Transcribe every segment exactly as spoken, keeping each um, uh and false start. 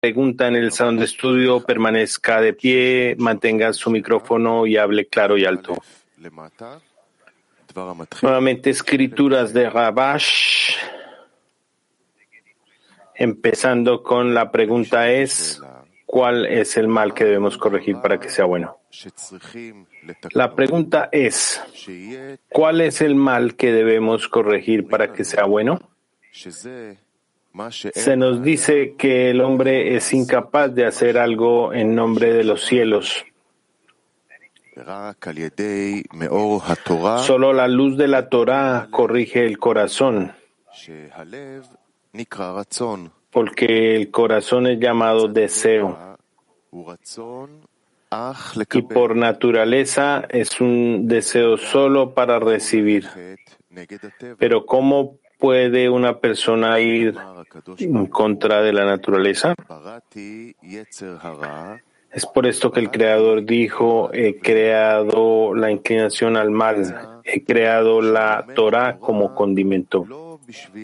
pregunta en el salón de estudio permanezca de pie, mantenga su micrófono y hable claro y alto. Nuevamente, escrituras de Rabash, empezando con la pregunta es, ¿cuál es el mal que debemos corregir para que sea bueno? La pregunta es, ¿cuál es el mal que debemos corregir para que sea bueno? Se nos dice que el hombre es incapaz de hacer algo en nombre de los cielos. Solo la luz de la Torá corrige el corazón, porque el corazón es llamado deseo y por naturaleza es un deseo solo para recibir. Pero ¿cómo puede una persona ir en contra de la naturaleza? Es por esto que el Creador dijo, he creado la inclinación al mal, he creado la Torá como condimento.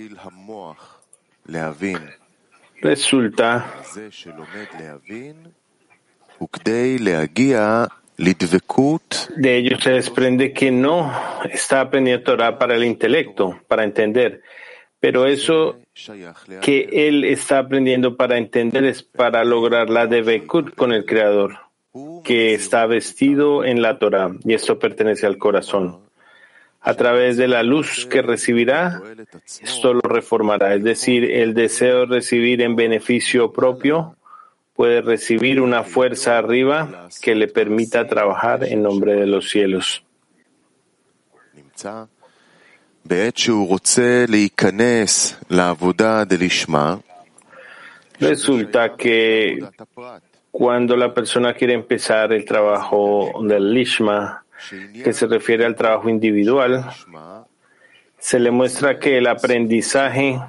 Resulta de ello se desprende que no está aprendiendo Torá para el intelecto, para entender, pero eso que él está aprendiendo para entender es para lograr la devekut con el Creador, que está vestido en la Torá, y esto pertenece al corazón. A través de la luz que recibirá, esto lo reformará, es decir, el deseo de recibir en beneficio propio puede recibir una fuerza arriba que le permita trabajar en nombre de los cielos. Resulta que cuando la persona quiere empezar el trabajo del Lishma, que se refiere al trabajo individual, se le muestra que el aprendizaje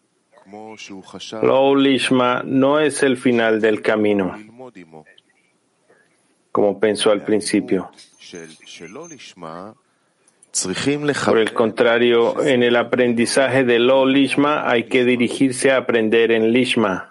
Lo Lishma no es el final del camino, como pensó al principio. Por el contrario, en el aprendizaje de Lo Lishma hay que dirigirse a aprender en Lishma.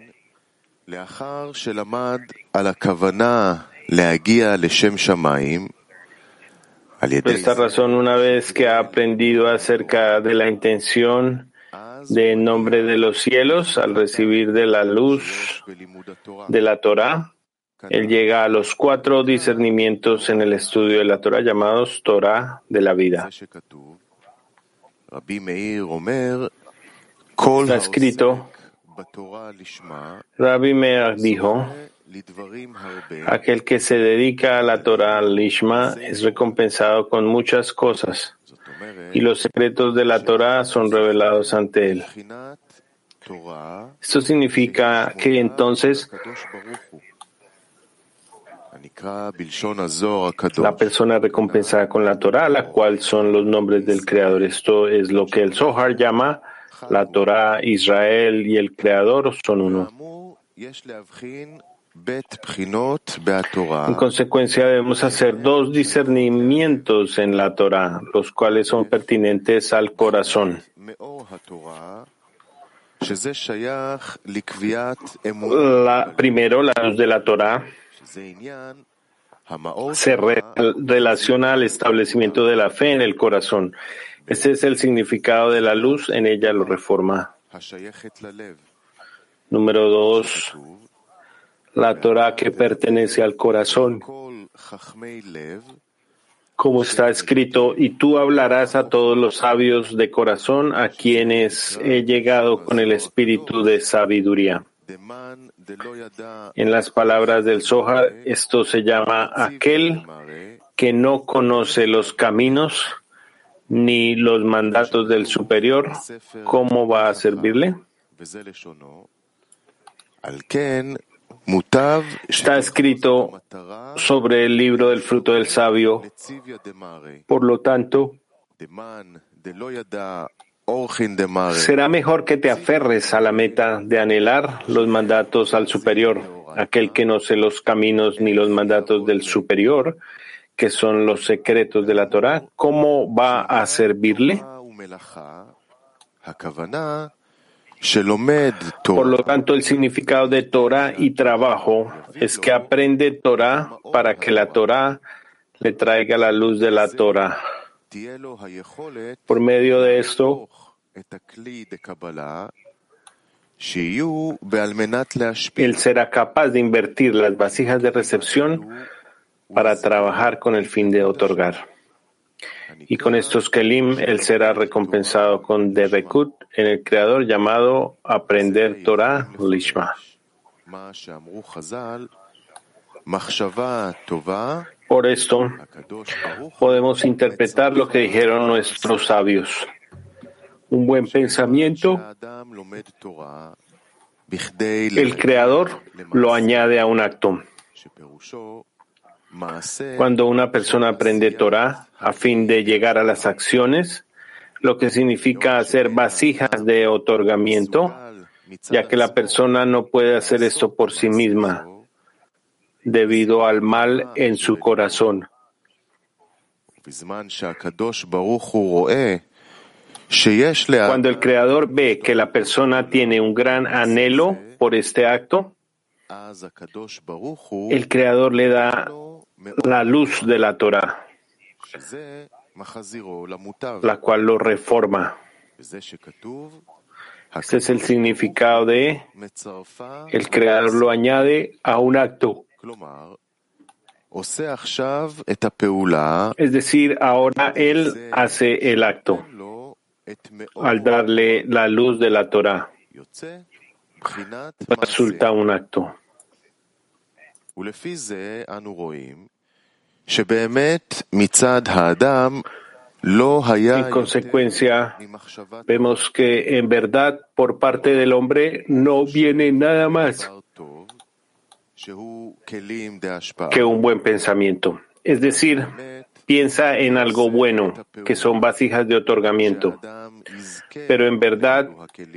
Por esta razón, una vez que ha aprendido acerca de la intención de en nombre de los cielos, al recibir de la luz de la Torá, él llega a los cuatro discernimientos en el estudio de la Torá llamados Torá de la vida. Está escrito, Rabbi Meir dijo, aquel que se dedica a la Torá Lishma es recompensado con muchas cosas, y los secretos de la Torá son revelados ante él. Esto significa que entonces la persona recompensada con la Torá, la cual son los nombres del Creador. Esto es lo que el Zohar llama la Torá, Israel y el Creador son uno. En consecuencia, debemos hacer dos discernimientos en la Torá, los cuales son pertinentes al corazón. La, primero, la luz de la Torá se re, relaciona al establecimiento de la fe en el corazón. Este es el significado de la luz, en ella lo reforma. Número dos, la Torá que pertenece al corazón. Como está escrito, y tú hablarás a todos los sabios de corazón, a quienes he llegado con el espíritu de sabiduría. En las palabras del Zohar, esto se llama aquel que no conoce los caminos ni los mandatos del superior. ¿Cómo va a servirle? Está escrito sobre el libro del fruto del sabio. Por lo tanto, será mejor que te aferres a la meta de anhelar los mandatos al superior, aquel que no sé los caminos ni los mandatos del superior, que son los secretos de la Torá. ¿Cómo va a servirle? Por lo tanto, el significado de Torah y trabajo es que aprende Torah para que la Torah le traiga la luz de la Torah. Por medio de esto, él será capaz de invertir las vasijas de recepción para trabajar con el fin de otorgar. Y con estos kelim, él será recompensado con Debekut en el Creador, llamado aprender Torah Lishma. Por esto, podemos interpretar lo que dijeron nuestros sabios. Un buen pensamiento, el Creador lo añade a un acto. Cuando una persona aprende Torah a fin de llegar a las acciones, lo que significa hacer vasijas de otorgamiento, ya que la persona no puede hacer esto por sí misma, debido al mal en su corazón. Cuando el Creador ve que la persona tiene un gran anhelo por este acto, el Creador le da la luz de la Torah, la cual lo reforma. Este es el significado de el Creador lo añade a un acto. Es decir, ahora él hace el acto al darle la luz de la Torah. Resulta un acto. En consecuencia, vemos que en verdad por parte del hombre no viene nada más que un buen pensamiento. Es decir, piensa en algo bueno, que son vasijas de otorgamiento. Pero en verdad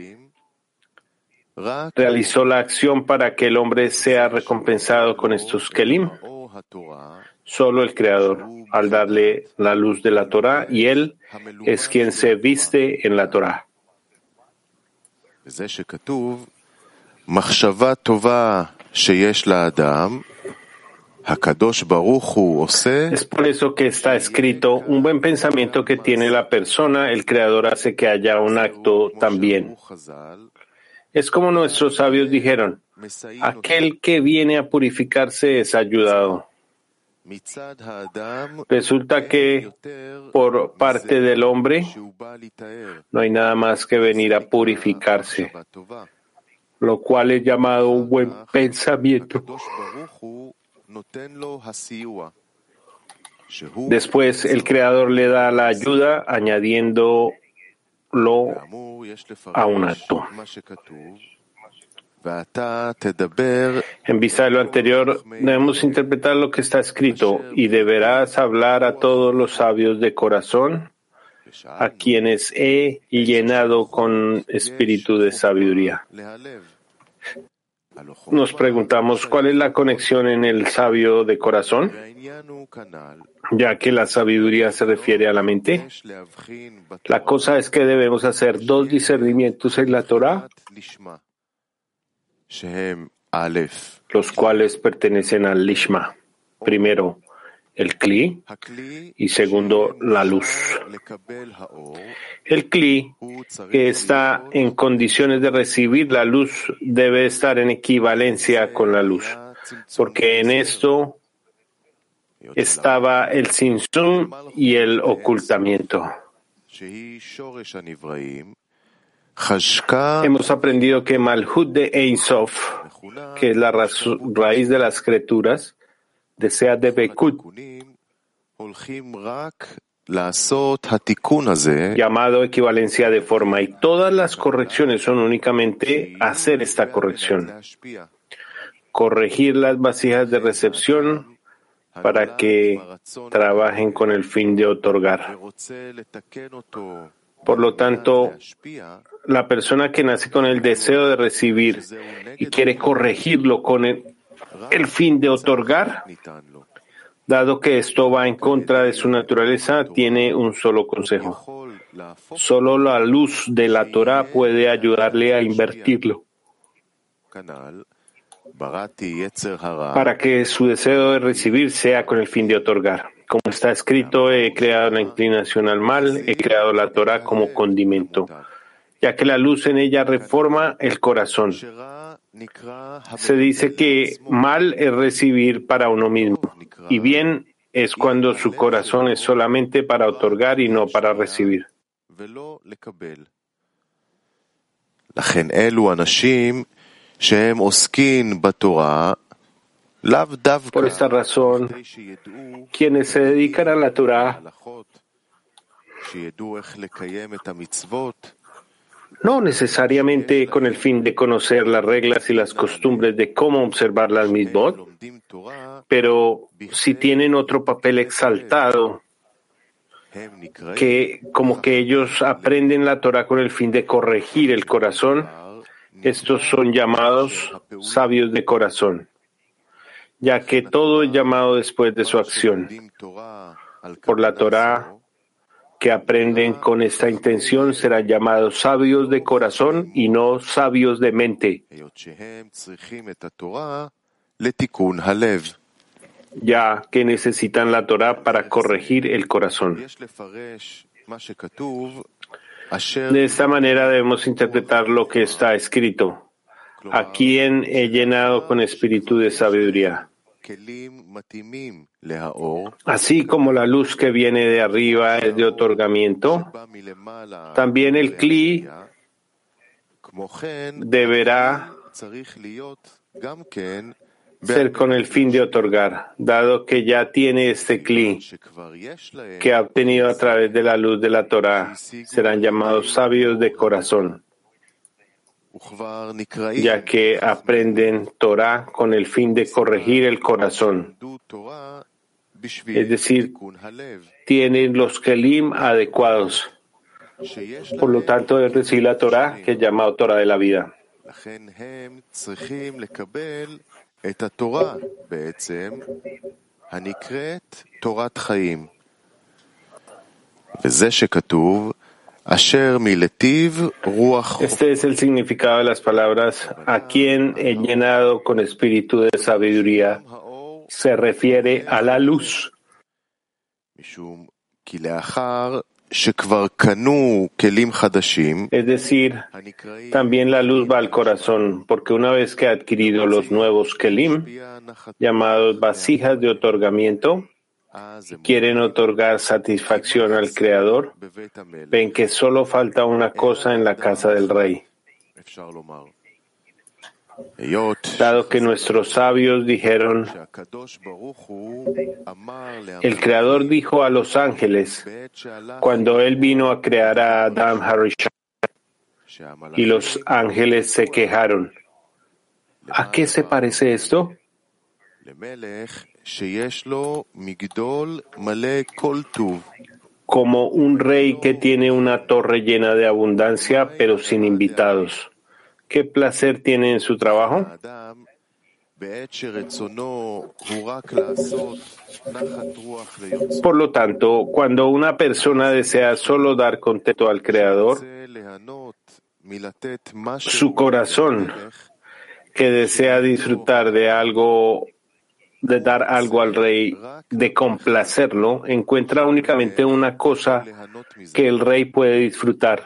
realizó la acción para que el hombre sea recompensado con estos kelim. Solo el Creador, al darle la luz de la Torah, y él es quien se viste en la Torah. Es por eso que está escrito, un buen pensamiento que tiene la persona, el Creador hace que haya un acto también. Es como nuestros sabios dijeron, aquel que viene a purificarse es ayudado. Resulta que por parte del hombre no hay nada más que venir a purificarse, lo cual es llamado un buen pensamiento. Después el Creador le da la ayuda añadiéndolo a un acto. En vista de lo anterior, debemos interpretar lo que está escrito y deberás hablar a todos los sabios de corazón, a quienes he llenado con espíritu de sabiduría. Nos preguntamos cuál es la conexión en el sabio de corazón, ya que la sabiduría se refiere a la mente. La cosa es que debemos hacer dos discernimientos en la Torah, los cuales pertenecen al Lishma. Primero, el Kli, y segundo, la luz. El Kli, que está en condiciones de recibir la luz, debe estar en equivalencia con la luz, porque en esto estaba el Tzimtzum y el ocultamiento. Hemos aprendido que Malhut de Ein Sof, que es la raíz de las criaturas, desea Debekut, llamado equivalencia de forma, y todas las correcciones son únicamente hacer esta corrección, corregir las vasijas de recepción para que trabajen con el fin de otorgar. Por lo tanto, la persona que nace con el deseo de recibir y quiere corregirlo con el, el fin de otorgar, dado que esto va en contra de su naturaleza, tiene un solo consejo: Solo la luz de la Torá puede ayudarle a invertirlo, para que su deseo de recibir sea con el fin de otorgar. Como está escrito, he creado la inclinación al mal, he creado la Torá como condimento, ya que la luz en ella reforma el corazón. Se dice que mal es recibir para uno mismo, y bien es cuando su corazón es solamente para otorgar y no para recibir. Por esta razón, quienes se dedican a la Torá no necesariamente con el fin de conocer las reglas y las costumbres de cómo observar las mitzvot, pero si tienen otro papel exaltado, que como que ellos aprenden la Torá con el fin de corregir el corazón, estos son llamados sabios de corazón, ya que todo es llamado después de su acción. Por la Torá que aprenden con esta intención serán llamados sabios de corazón y no sabios de mente, ya que necesitan la Torá para corregir el corazón. De esta manera debemos interpretar lo que está escrito: a quien he llenado con espíritu de sabiduría. Así como la luz que viene de arriba es de otorgamiento, también el Kli deberá ser con el fin de otorgar, dado que ya tiene este Kli que ha obtenido a través de la luz de la Torá. Serán llamados sabios de corazón, ya que aprenden Torá con el fin de corregir el corazón. Es decir, tienen los kelim adecuados. Por lo tanto, es recibir la Torá, que es llamado Torá de la vida. Este es el significado de las palabras a quien he llenado con espíritu de sabiduría. Se refiere a la luz. Es decir, también la luz va al corazón, porque una vez que ha adquirido los nuevos kelim, llamados vasijas de otorgamiento, quieren otorgar satisfacción al Creador, ven que solo falta una cosa en la casa del Rey. Dado que nuestros sabios dijeron, el Creador dijo a los ángeles, cuando Él vino a crear a Adam Harishon, y los ángeles se quejaron, ¿a qué se parece esto? Como un rey que tiene una torre llena de abundancia, pero sin invitados. ¿Qué placer tiene en su trabajo? Por lo tanto, cuando una persona desea solo dar contento al Creador, su corazón, que desea disfrutar de algo, de dar algo al rey, de complacerlo, encuentra únicamente una cosa que el rey puede disfrutar,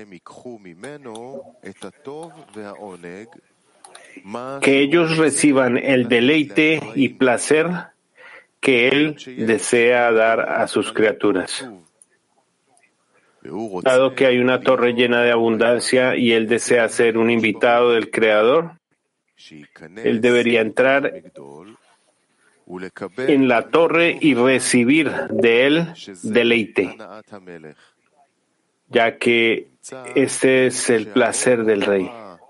que ellos reciban el deleite y placer que él desea dar a sus criaturas. Dado que hay una torre llena de abundancia y él desea ser un invitado del Creador, él debería entrar en la torre y recibir de él deleite, ya que este es el placer del rey.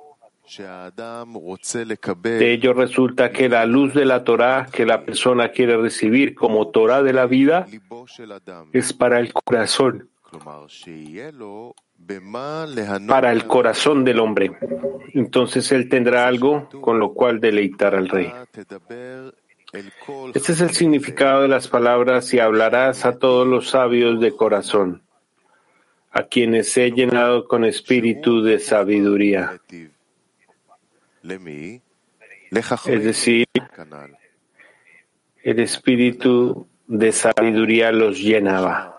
De ello resulta que la luz de la Torá que la persona quiere recibir como Torá de la vida es para el corazón, para el corazón del hombre. Entonces él tendrá algo con lo cual deleitar al rey. Este es el significado de las palabras y hablarás a todos los sabios de corazón. a quienes he llenado con espíritu de sabiduría. Es decir, el espíritu de sabiduría los llenaba.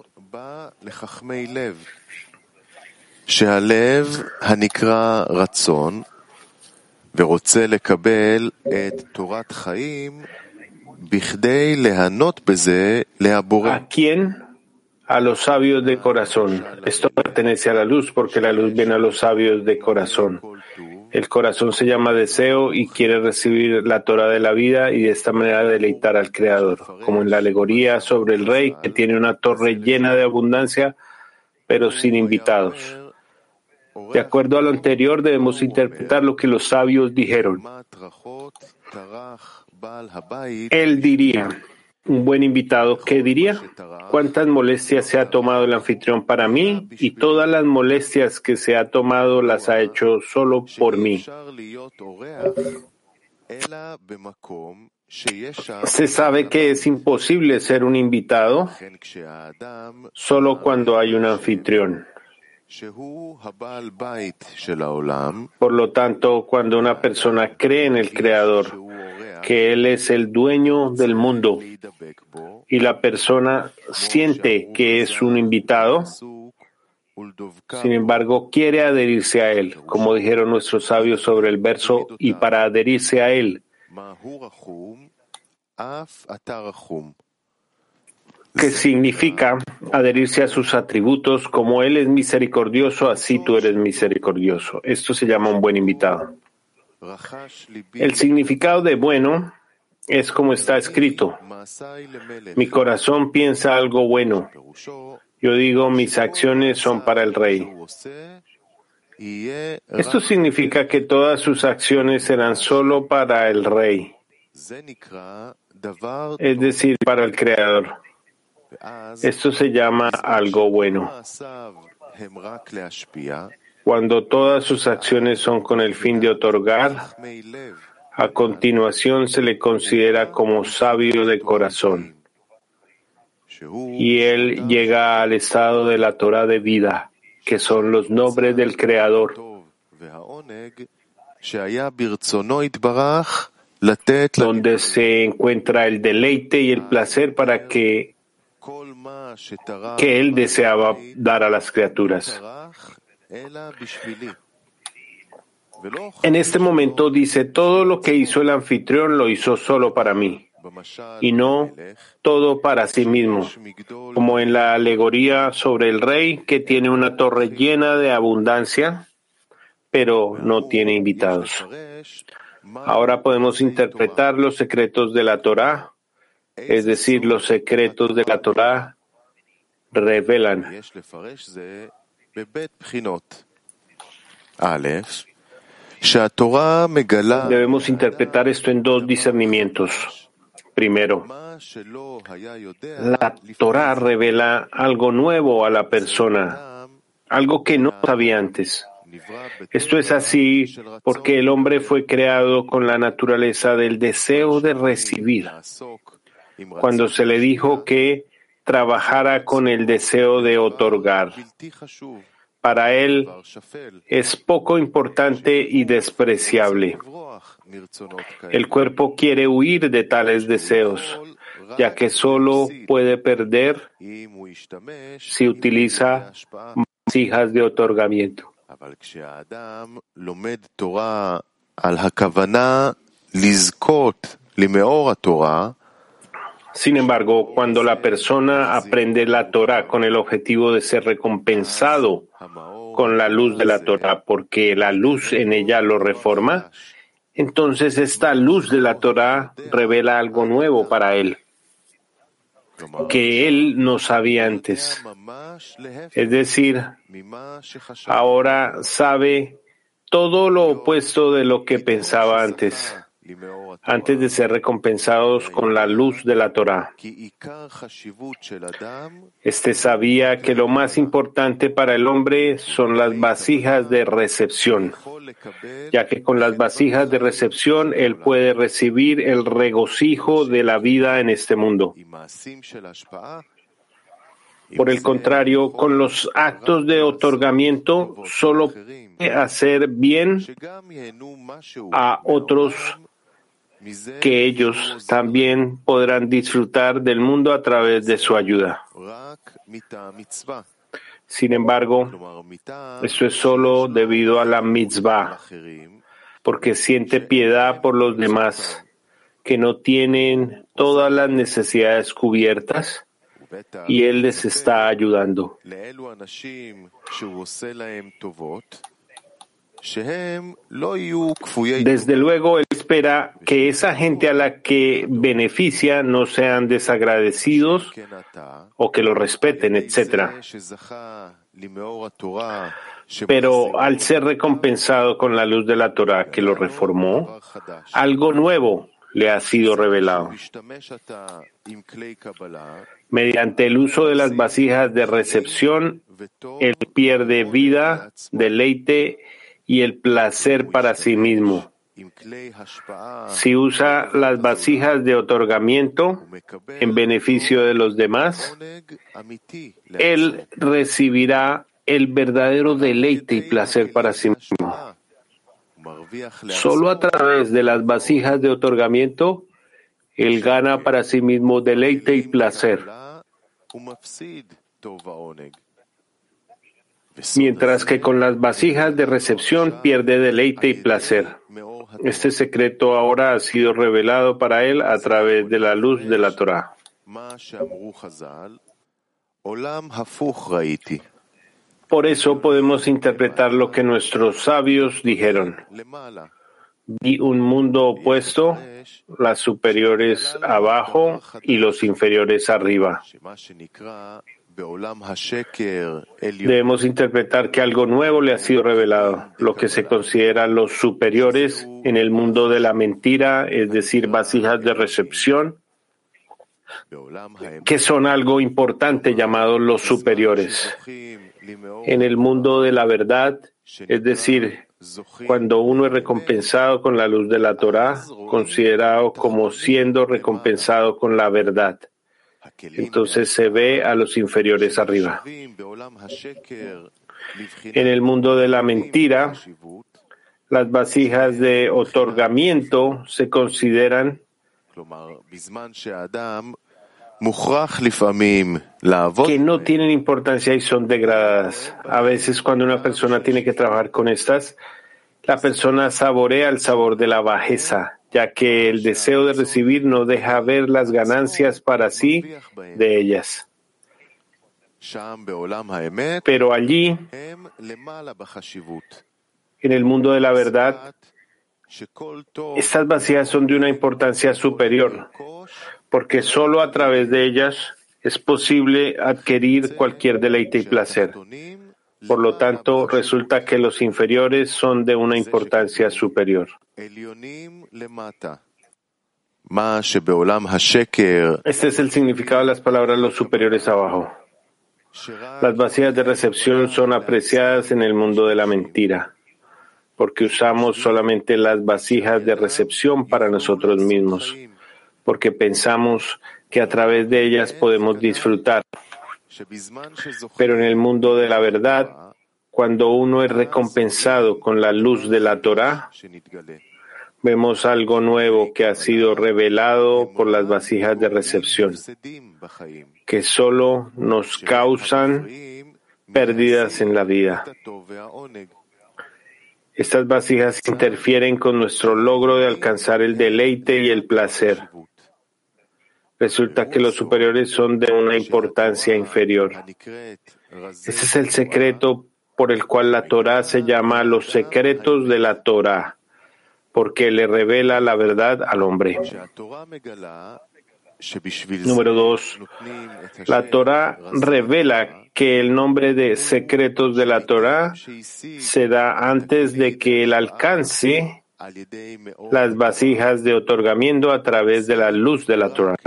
שהלב הנקרא רצון ורוצה לקבל את תורת חיים בכדי ליהנות בזה להבורא. ¿A quién? A los sabios de corazón. Esto pertenece a la luz porque la luz viene a los sabios de corazón. El corazón se llama deseo y quiere recibir la Torah de la vida y de esta manera deleitar al Creador, como en la alegoría sobre el rey que tiene una torre llena de abundancia pero sin invitados. De acuerdo a lo anterior, debemos interpretar lo que los sabios dijeron. Él diría, un buen invitado, ¿qué diría? ¿Cuántas molestias se ha tomado el anfitrión para mí? Y todas las molestias que se ha tomado las ha hecho solo por mí. Se sabe que es imposible ser un invitado solo cuando hay un anfitrión. Por lo tanto, cuando una persona cree en el Creador, que Él es el dueño del mundo, y la persona siente que es un invitado, sin embargo, quiere adherirse a Él, como dijeron nuestros sabios sobre el verso, y para adherirse a Él, que significa adherirse a sus atributos, como Él es misericordioso, así tú eres misericordioso. Esto se llama un buen invitado. El significado de bueno es como está escrito. Mi corazón piensa algo bueno. Yo digo, mis acciones son para el rey. Esto significa que todas sus acciones serán solo para el rey, es decir, para el Creador. Esto se llama algo bueno. Cuando todas sus acciones son con el fin de otorgar, a continuación se le considera como sabio de corazón. Y él llega al estado de la Torah de vida, que son los nombres del Creador, donde se encuentra el deleite y el placer para que, que él deseaba dar a las criaturas. En este momento dice, todo lo que hizo el anfitrión lo hizo solo para mí, y no todo para sí mismo, como en la alegoría sobre el rey que tiene una torre llena de abundancia, pero no tiene invitados. Ahora podemos interpretar los secretos de la Torá, es decir, los secretos de la Torá revelan. Debemos interpretar esto en dos discernimientos. Primero, la Torá revela algo nuevo a la persona, algo que no sabía antes. Esto es así porque el hombre fue creado con la naturaleza del deseo de recibir. Cuando se le dijo que trabajara con el deseo de otorgar, para él es poco importante y despreciable. El cuerpo quiere huir de tales deseos, ya que solo puede perder si utiliza vasijas de otorgamiento. Sin embargo, cuando la persona aprende la Torá con el objetivo de ser recompensado con la luz de la Torá, porque la luz en ella lo reforma, entonces esta luz de la Torá revela algo nuevo para él, que él no sabía antes. Es decir, ahora sabe todo lo opuesto de lo que pensaba antes, antes de ser recompensados con la luz de la Torá. Este sabía que lo más importante para el hombre son las vasijas de recepción, ya que con las vasijas de recepción él puede recibir el regocijo de la vida en este mundo. Por el contrario, con los actos de otorgamiento solo puede hacer bien a otros, que ellos también podrán disfrutar del mundo a través de su ayuda. Sin embargo, esto es solo debido a la mitzvah, porque siente piedad por los demás que no tienen todas las necesidades cubiertas y él les está ayudando. Desde luego, él espera que esa gente a la que beneficia no sean desagradecidos o que lo respeten, etcétera. Pero al ser recompensado con la luz de la Torah que lo reformó, algo nuevo le ha sido revelado. Mediante el uso de las vasijas de recepción, él pierde vida, deleite y el placer para sí mismo. Si usa las vasijas de otorgamiento en beneficio de los demás, él recibirá el verdadero deleite y placer para sí mismo. Solo a través de las vasijas de otorgamiento, él gana para sí mismo deleite y placer, mientras que con las vasijas de recepción pierde deleite y placer. Este secreto ahora ha sido revelado para él a través de la luz de la Torah. Por eso podemos interpretar lo que nuestros sabios dijeron. Vi un mundo opuesto, las superiores abajo y los inferiores arriba. Debemos interpretar que algo nuevo le ha sido revelado, lo que se considera los superiores en el mundo de la mentira, es decir, vasijas de recepción, que son algo importante llamados los superiores. En el mundo de la verdad, es decir, cuando uno es recompensado con la luz de la Torah, considerado como siendo recompensado con la verdad. Entonces se ve a los inferiores arriba. En el mundo de la mentira, las vasijas de otorgamiento se consideran que no tienen importancia y son degradadas. A veces cuando una persona tiene que trabajar con estas, la persona saborea el sabor de la bajeza, ya que el deseo de recibir no deja ver las ganancias para sí de ellas. Pero allí, en el mundo de la verdad, estas vasijas son de una importancia superior, porque solo a través de ellas es posible adquirir cualquier deleite y placer. Por lo tanto, resulta que los inferiores son de una importancia superior. Este es el significado de las palabras los superiores abajo. Las vasijas de recepción son apreciadas en el mundo de la mentira, porque usamos solamente las vasijas de recepción para nosotros mismos, porque pensamos que a través de ellas podemos disfrutar. Pero en el mundo de la verdad, cuando uno es recompensado con la luz de la Torah, vemos algo nuevo que ha sido revelado por las vasijas de recepción, que solo nos causan pérdidas en la vida. Estas vasijas interfieren con nuestro logro de alcanzar el deleite y el placer. Resulta que los superiores son de una importancia inferior. Ese es el secreto por el cual la Torah se llama los secretos de la Torah, porque le revela la verdad al hombre. Número dos. La Torah revela que el nombre de secretos de la Torah se da antes de que él alcance las vasijas de otorgamiento a través de la luz de la Torah.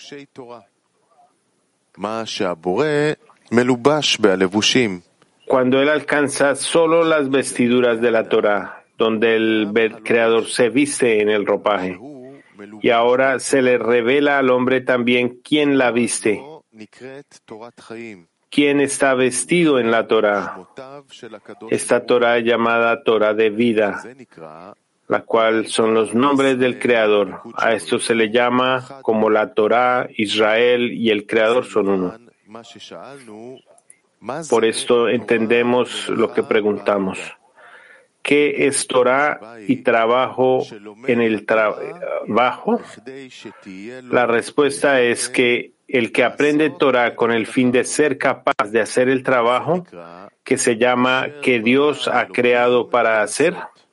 Cuando él alcanza solo las vestiduras de la Torah, donde el Creador se viste en el ropaje, y ahora se le revela al hombre también quién la viste. ¿Quién está vestido en la Torah? Esta Torah es llamada Torah de vida, la cual son los nombres del Creador. A esto se le llama como la Torah, Israel y el Creador son uno. Por esto entendemos lo que preguntamos. ¿Qué es Torah y trabajo en el trabajo? La respuesta es que el que aprende Torah con el fin de ser capaz de hacer el trabajo que se llama que Dios ha creado para hacer,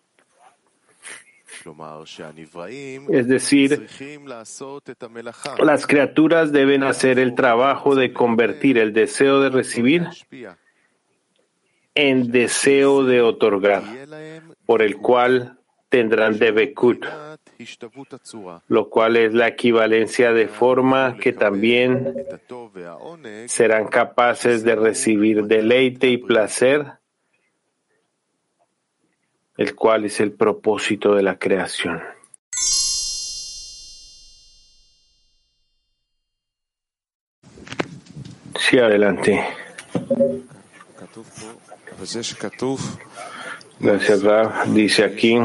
es decir, las criaturas deben hacer el trabajo de convertir el deseo de recibir en deseo de otorgar, por el cual tendrán debekut, lo cual es la equivalencia de forma que también serán capaces de recibir deleite y placer, el cual es el propósito de la creación. Sí, adelante. Gracias, Rav. Dice aquí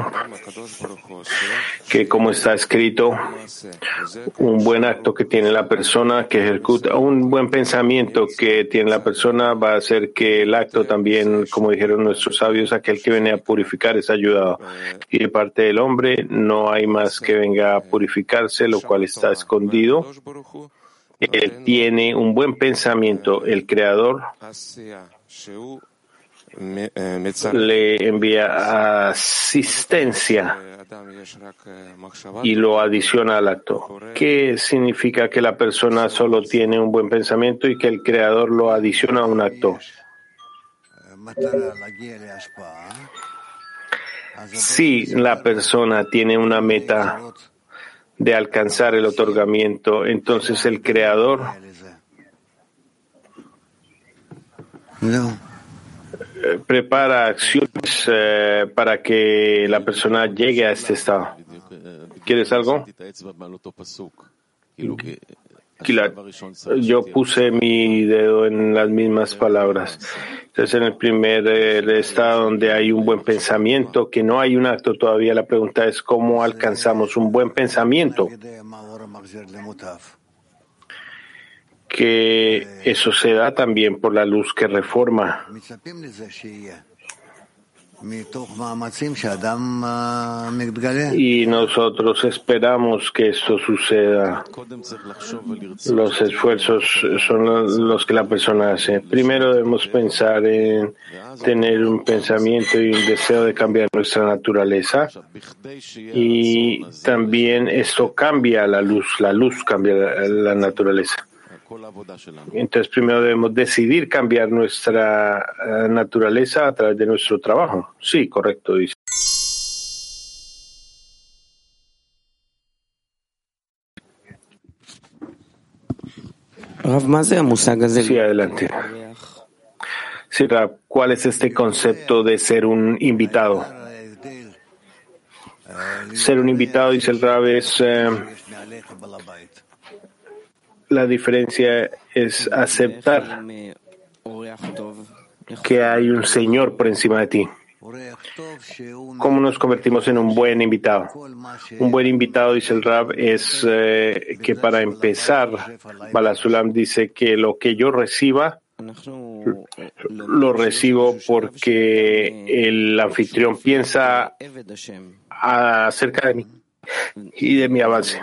que, como está escrito, un buen acto que tiene la persona que ejecuta, un buen pensamiento que tiene la persona va a hacer que el acto también, como dijeron nuestros sabios, aquel que viene a purificar es ayudado. Y de parte del hombre no hay más que venga a purificarse, lo cual está escondido. Él tiene un buen pensamiento, el Creador le envía asistencia y lo adiciona al acto. ¿Qué significa que la persona solo tiene un buen pensamiento y que el Creador lo adiciona a un acto? Si la persona tiene una meta de alcanzar el otorgamiento, entonces el Creador prepara acciones eh, para que la persona llegue a este estado. ¿Quieres algo? Yo puse mi dedo en las mismas palabras. Entonces, en el primer eh, estado donde hay un buen pensamiento, que no hay un acto todavía, la pregunta es ¿cómo alcanzamos un buen pensamiento? Que eso se da también por la luz que reforma. Y nosotros esperamos que esto suceda. Los esfuerzos son los que la persona hace. Primero debemos pensar en tener un pensamiento y un deseo de cambiar nuestra naturaleza. Y también esto cambia la luz. La luz cambia la naturaleza. Entonces, primero debemos decidir cambiar nuestra uh, naturaleza a través de nuestro trabajo. Sí, correcto, dice. Sí, adelante. Sí, Rav, ¿cuál es este concepto de ser un invitado? Ser un invitado, dice el Rav, es... Eh, la diferencia es aceptar que hay un Señor por encima de ti. ¿Cómo nos convertimos en un buen invitado? Un buen invitado, dice el Rab, es eh, que para empezar, Balasulam dice que lo que yo reciba, lo recibo porque el anfitrión piensa acerca de mí y de mi avance.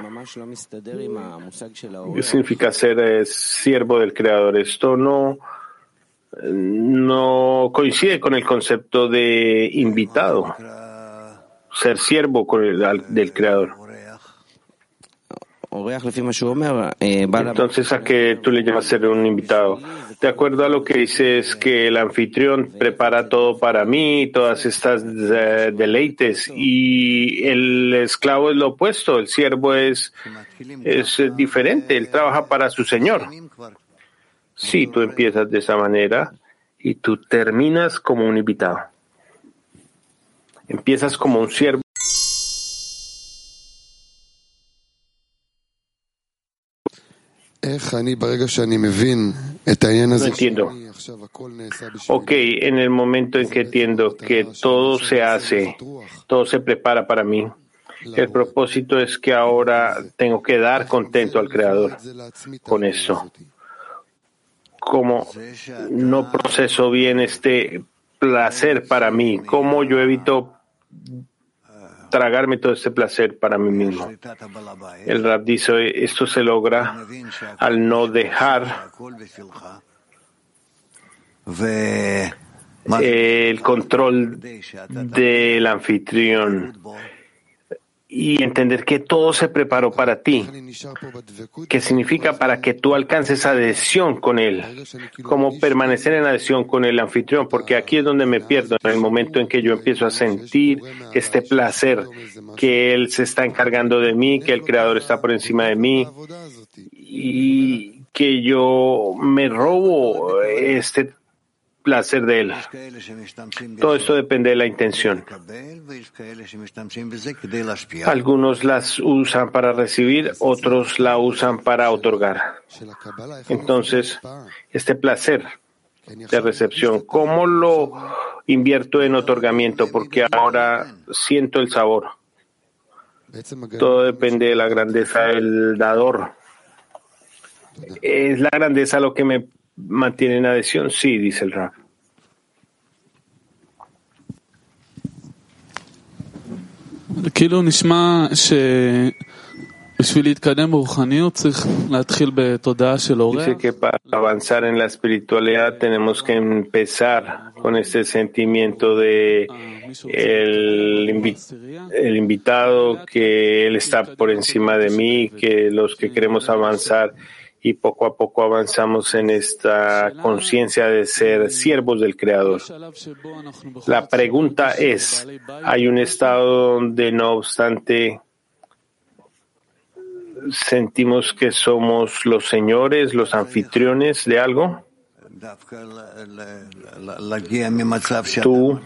¿Qué significa ser eh, siervo del Creador? Esto no, no coincide con el concepto de invitado, ser siervo con el, del Creador. Entonces, ¿a qué tú le llamas ser un invitado? De acuerdo a lo que dices, que el anfitrión prepara todo para mí, todas estas uh, deleites, y el esclavo es lo opuesto, el siervo es, es diferente, él trabaja para su Señor. Sí, tú empiezas de esa manera y tú terminas como un invitado. Empiezas como un siervo. No entiendo. Ok, en el momento en que entiendo que todo se hace, todo se prepara para mí, el propósito es que ahora tengo que dar contento al Creador con eso. Como no proceso bien este placer para mí, cómo yo evito tragarme todo este placer para mí mismo. El Rab dice, esto se logra al no dejar el control del anfitrión y entender que todo se preparó para ti, que significa para que tú alcances adhesión con él, como permanecer en adhesión con el anfitrión, porque aquí es donde me pierdo, en el momento en que yo empiezo a sentir este placer, que él se está encargando de mí, que el Creador está por encima de mí y que yo me robo este placer de él. Todo esto depende de la intención. Algunos las usan para recibir, otros la usan para otorgar. Entonces, este placer de recepción, ¿cómo lo invierto en otorgamiento? Porque ahora siento el sabor. Todo depende de la grandeza del dador. ¿Es la grandeza lo que me mantiene en adhesión? Sí, dice el Rab. Dice que para avanzar en la espiritualidad tenemos que empezar con este sentimiento de el, invi- el invitado, que él está por encima de mí, que los que queremos avanzar y poco a poco avanzamos en esta conciencia de ser siervos del Creador. La pregunta es, ¿hay un estado donde no obstante sentimos que somos los señores, los anfitriones de algo? Tú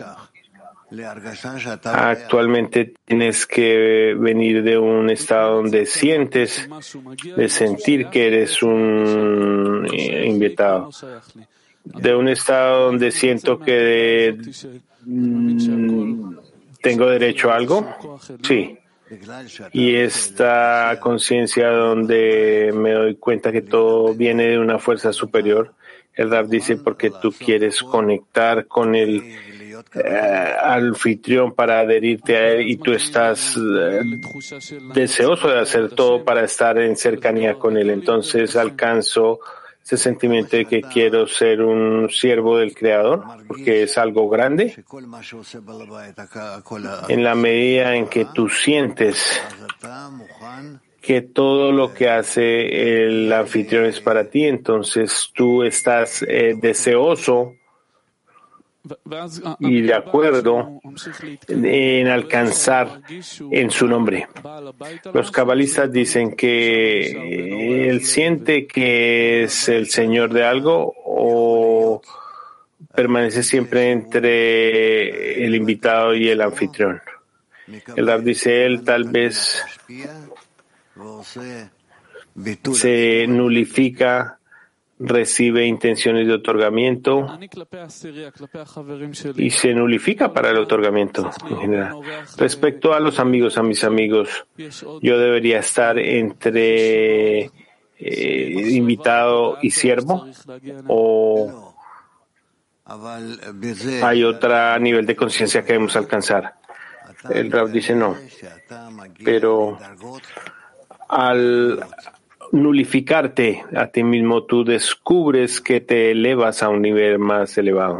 actualmente tienes que venir de un estado donde sientes, de sentir que eres un invitado, de un estado donde siento que de, mm, tengo derecho a algo, sí. Y esta conciencia donde me doy cuenta que todo viene de una fuerza superior, el Rab dice porque tú quieres conectar con el eh, anfitrión para adherirte a él y tú estás eh, deseoso de hacer todo para estar en cercanía con él. Entonces alcanzo ese sentimiento de que quiero ser un siervo del Creador, porque es algo grande. En la medida en que tú sientes que todo lo que hace el anfitrión es para ti, entonces tú estás eh, deseoso y de acuerdo en alcanzar en su nombre. Los cabalistas dicen que él siente que es el señor de algo o permanece siempre entre el invitado y el anfitrión. El Rab dice, él tal vez se nulifica, recibe intenciones de otorgamiento y se nulifica para el otorgamiento en general. Respecto a los amigos, a mis amigos, yo debería estar entre eh, invitado y siervo, o hay otro nivel de conciencia que debemos alcanzar. El Rab dice no, pero al nulificarte a ti mismo, tú descubres que te elevas a un nivel más elevado.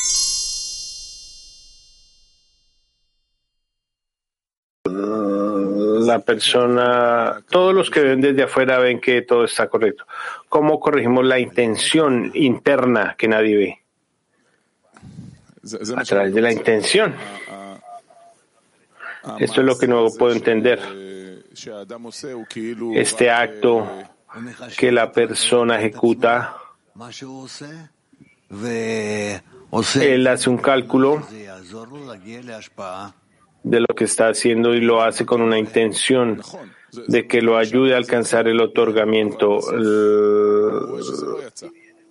La persona, todos los que ven desde afuera ven que todo está correcto. ¿Cómo corregimos la intención interna que nadie ve? A través de la intención. Esto es lo que no puedo entender. Este acto que la persona ejecuta, él hace un cálculo de lo que está haciendo y lo hace con una intención de que lo ayude a alcanzar el otorgamiento.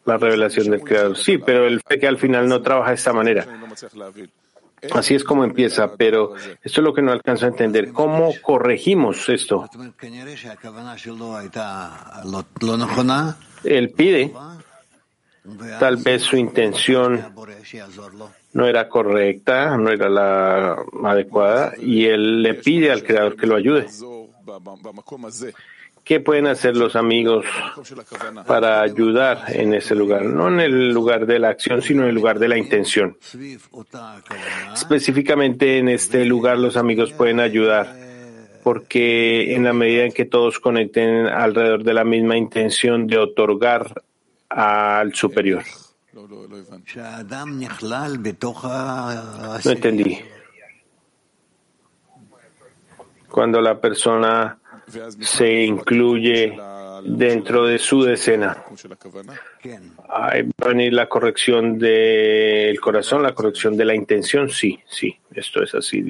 la revelación del Creador. Sí, pero el fe que al final no trabaja de esta manera. Así es como empieza, pero esto es lo que no alcanzo a entender. ¿Cómo corregimos esto? Él pide, tal vez su intención no era correcta, no era la adecuada, y él le pide al Creador que lo ayude. ¿Qué pueden hacer los amigos para ayudar en ese lugar? No en el lugar de la acción, sino en el lugar de la intención. Específicamente en este lugar los amigos pueden ayudar, porque en la medida en que todos conecten alrededor de la misma intención de otorgar al superior. No entendí. Cuando la persona se incluye dentro de su decena, ahí va a venir la corrección del corazón, la corrección de la intención. Sí, sí, esto es así.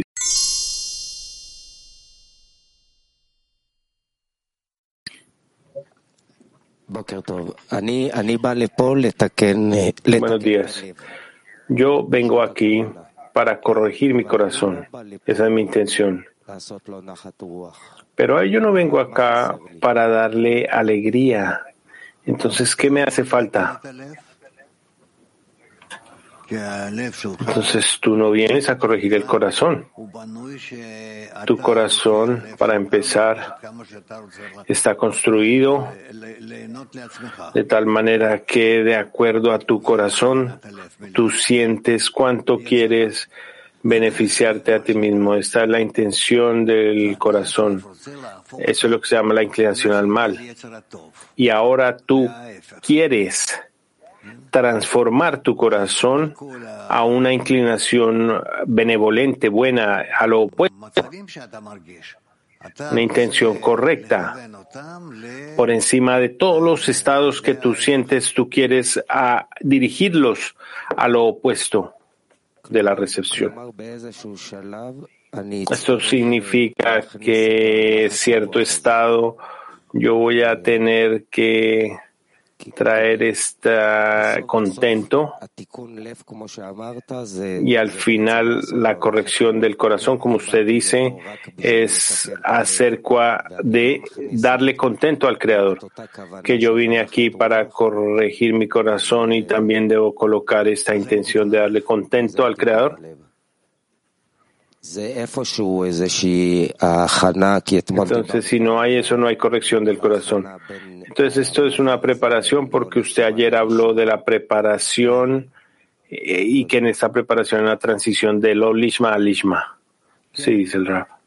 Buenos días. Yo vengo aquí para corregir mi corazón. Esa es mi intención. Pero yo no vengo acá para darle alegría. Entonces, ¿qué me hace falta? Entonces, tú no vienes a corregir el corazón. Tu corazón, para empezar, está construido de tal manera que, de acuerdo a tu corazón, tú sientes cuánto quieres beneficiarte a ti mismo. Esta es la intención del corazón. Eso es lo que se llama la inclinación al mal. Y ahora tú quieres transformar tu corazón a una inclinación benevolente, buena, a lo opuesto. Una intención correcta. Por encima de todos los estados que tú sientes, tú quieres a dirigirlos a lo opuesto de la recepción. Esto significa que cierto estado yo voy a tener que traer este contento y al final la corrección del corazón, como usted dice, es acerca de darle contento al Creador, que yo vine aquí para corregir mi corazón y también debo colocar esta intención de darle contento al Creador. Entonces, si no hay eso, no hay corrección del corazón. Entonces, esto es una preparación porque usted ayer habló de la preparación y que en esta preparación hay una transición de lo lishma a lishma. Sí, dice el Rab.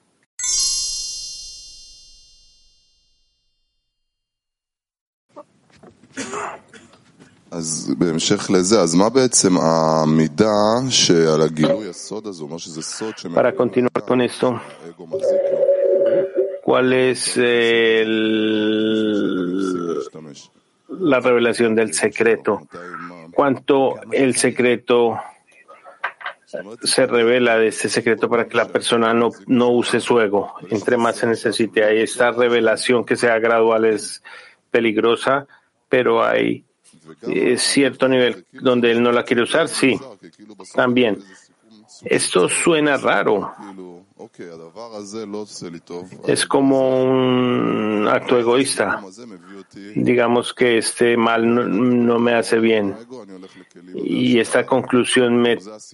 אז בהמשך לזה, אז מה בעצם המידה שעל הגילוי הסוד הזה, אומר שזה סוד Para continuar con esto, האגו מחזיק לו. ¿cuál es el, la revelación del secreto? ¿Cuánto el secreto se revela de este secreto para que la persona no, no use su ego? Entre más se necesite. Hay esta revelación que sea gradual es peligrosa, pero hay eh, cierto nivel donde él no la quiere usar, sí, también. Esto suena raro. Es como un acto egoísta. Digamos que este mal no, no me hace bien. Y esta conclusión me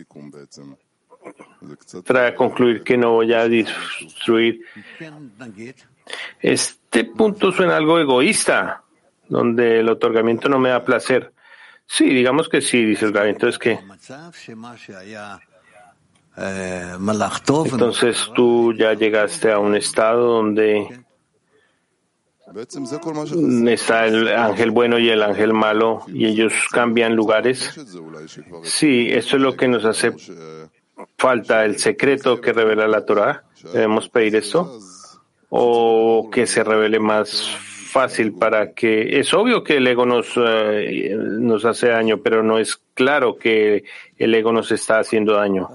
trae a concluir que no voy a destruir. Este punto suena algo egoísta, donde el otorgamiento no me da placer. Sí, digamos que sí, dice el Rabbi. Entonces, ¿qué? Entonces tú ya llegaste a un estado donde está el ángel bueno y el ángel malo y ellos cambian lugares. Sí, eso es lo que nos hace falta, el secreto que revela la Torah. ¿Debemos pedir esto? ¿O que se revele más fácil para que... Es obvio que el ego nos, eh, nos hace daño, pero no es claro que el ego nos está haciendo daño.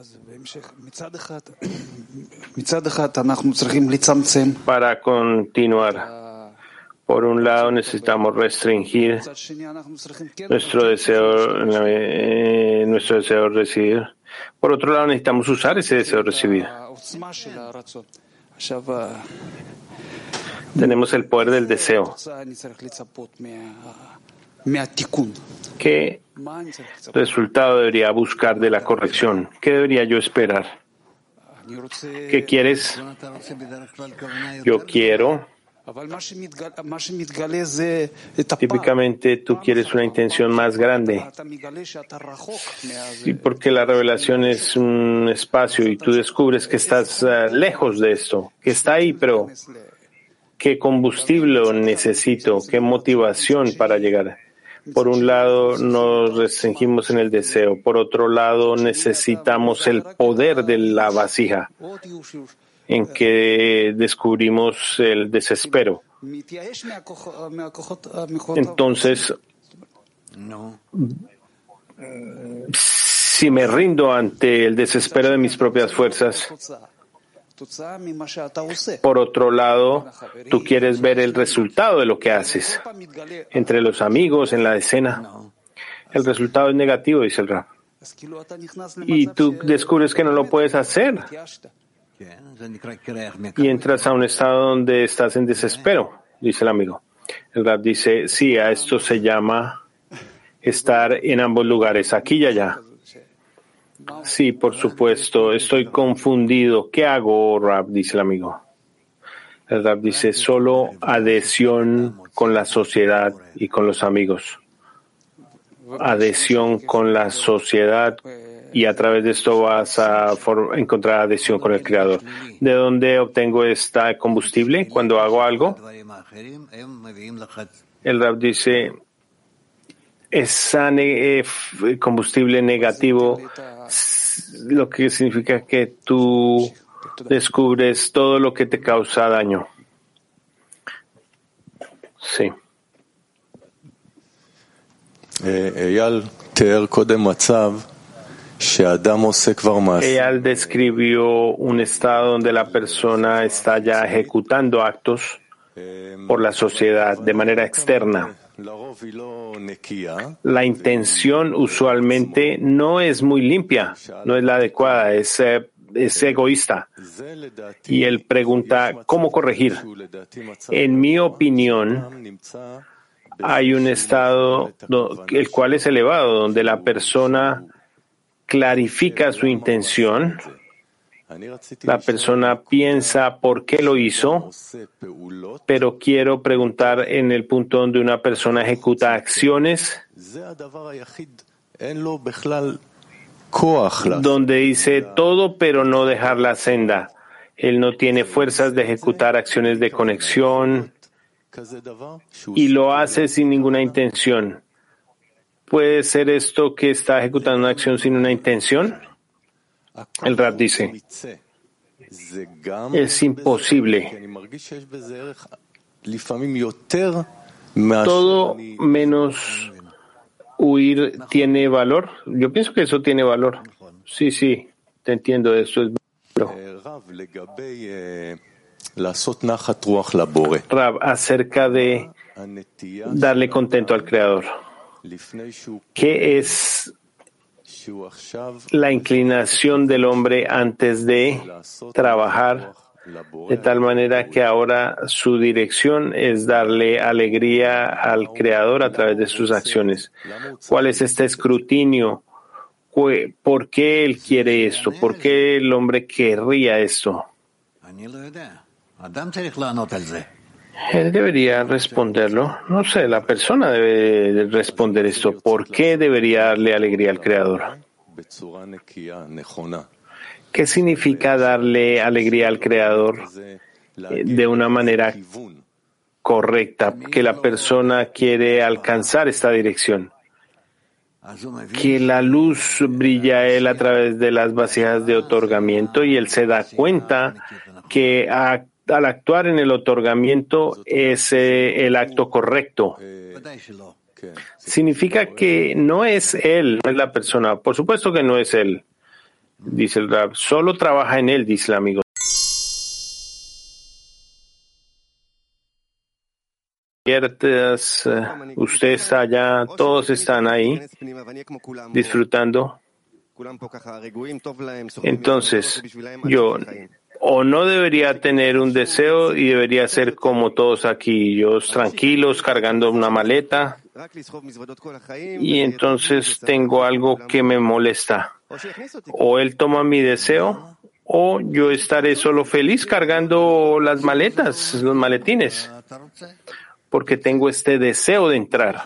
Para continuar, Por un lado necesitamos restringir nuestro deseo, eh, nuestro deseo de recibir. Por otro lado necesitamos usar ese deseo de recibir. Tenemos el poder del deseo. ¿Qué resultado debería buscar de la corrección? ¿Qué debería yo esperar? ¿Qué quieres? Yo quiero. Típicamente tú quieres una intención más grande. Sí, porque la revelación es un espacio y tú descubres que estás uh, lejos de esto, que está ahí, pero ¿qué combustible necesito? ¿Qué motivación para llegar? Por un lado nos restringimos en el deseo, por otro lado necesitamos el poder de la vasija, en que descubrimos el desespero. Entonces, si me rindo ante el desespero de mis propias fuerzas, por otro lado, tú quieres ver el resultado de lo que haces. Entre los amigos, en la escena, el resultado es negativo, dice el Rab. Y tú descubres que no lo puedes hacer. Y entras a un estado donde estás en desespero, dice el amigo. El Rab dice, sí, a esto se llama estar en ambos lugares, aquí y allá. Sí, por supuesto, estoy confundido. ¿Qué hago, Rab? Dice el amigo. El Rab dice, solo adhesión con la sociedad y con los amigos. Adhesión con la sociedad y a través de esto vas a for- encontrar adhesión con el Creador. ¿De dónde obtengo este combustible cuando hago algo? El Rab dice, ese ne- eh, combustible negativo, lo que significa que tú descubres todo lo que te causa daño. Sí. Eyal tear kodem matzav she'adam oseh kvar ma'aseh. Eyal describió un estado donde la persona está ya ejecutando actos por la sociedad de manera externa. La intención usualmente no es muy limpia, no es la adecuada, es, eh, es egoísta. Y él pregunta, ¿cómo corregir? En mi opinión, hay un estado el cual es elevado, donde la persona clarifica su intención. La persona piensa por qué lo hizo, pero quiero preguntar en el punto donde una persona ejecuta acciones, donde dice todo pero no dejar la senda. Él no tiene fuerzas de ejecutar acciones de conexión y lo hace sin ninguna intención. ¿Puede ser esto que está ejecutando una acción sin una intención? El Rab dice, es imposible. Todo menos huir tiene valor. Yo pienso que eso tiene valor. Sí, sí, te entiendo, eso es valor. Rab, acerca de darle contento al Creador. ¿Qué es la inclinación del hombre antes de trabajar de tal manera que ahora su dirección es darle alegría al Creador a través de sus acciones? ¿Cuál es este escrutinio? ¿Por qué él quiere esto? ¿Por qué el hombre querría esto? Él debería responderlo. No sé, la persona debe responder esto. ¿Por qué debería darle alegría al Creador? ¿Qué significa darle alegría al Creador de una manera correcta? Que la persona quiere alcanzar esta dirección. Que la luz brilla a él a través de las vasijas de otorgamiento y él se da cuenta que a al actuar en el otorgamiento es eh, el acto correcto. Significa que no es él, no es la persona. Por supuesto que no es él, dice el Rab. Solo trabaja en él, dice el amigo. abiertas, usted está allá, todos están ahí disfrutando. Entonces, yo o no debería tener un deseo y debería ser como todos aquí, ellos tranquilos, cargando una maleta, y entonces tengo algo que me molesta. O él toma mi deseo, o yo estaré solo feliz cargando las maletas, los maletines, porque tengo este deseo de entrar.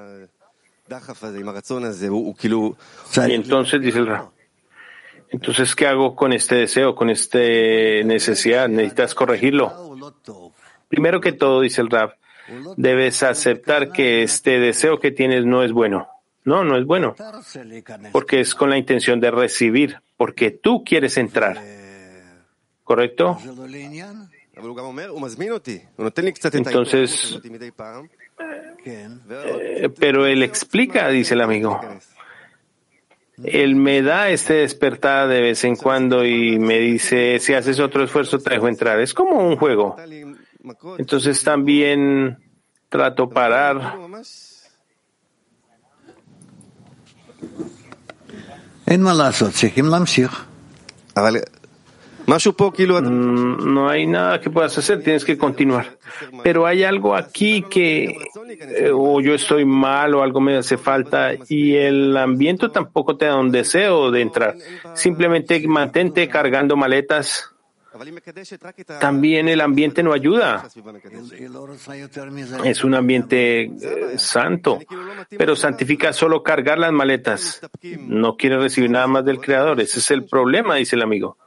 Y entonces dice el Rab, entonces, ¿qué hago con este deseo, con esta necesidad? Necesitas corregirlo. Primero que todo, dice el Rab, debes aceptar que este deseo que tienes no es bueno. No, no es bueno, porque es con la intención de recibir, porque tú quieres entrar. ¿Correcto? Entonces, eh, pero él explica, dice el amigo. Él me da este despertar de vez en cuando y me dice, si haces otro esfuerzo te dejo entrar. Es como un juego. Entonces también trato parar. No hay nada que puedas hacer, tienes que continuar. Pero hay algo aquí que eh, o yo estoy mal o algo me hace falta y el ambiente tampoco te da un deseo de entrar. Simplemente mantente cargando maletas. También el ambiente no ayuda. Es un ambiente eh, santo, pero santifica solo cargar las maletas. No quiere recibir nada más del Creador. Ese es el problema, dice el amigo.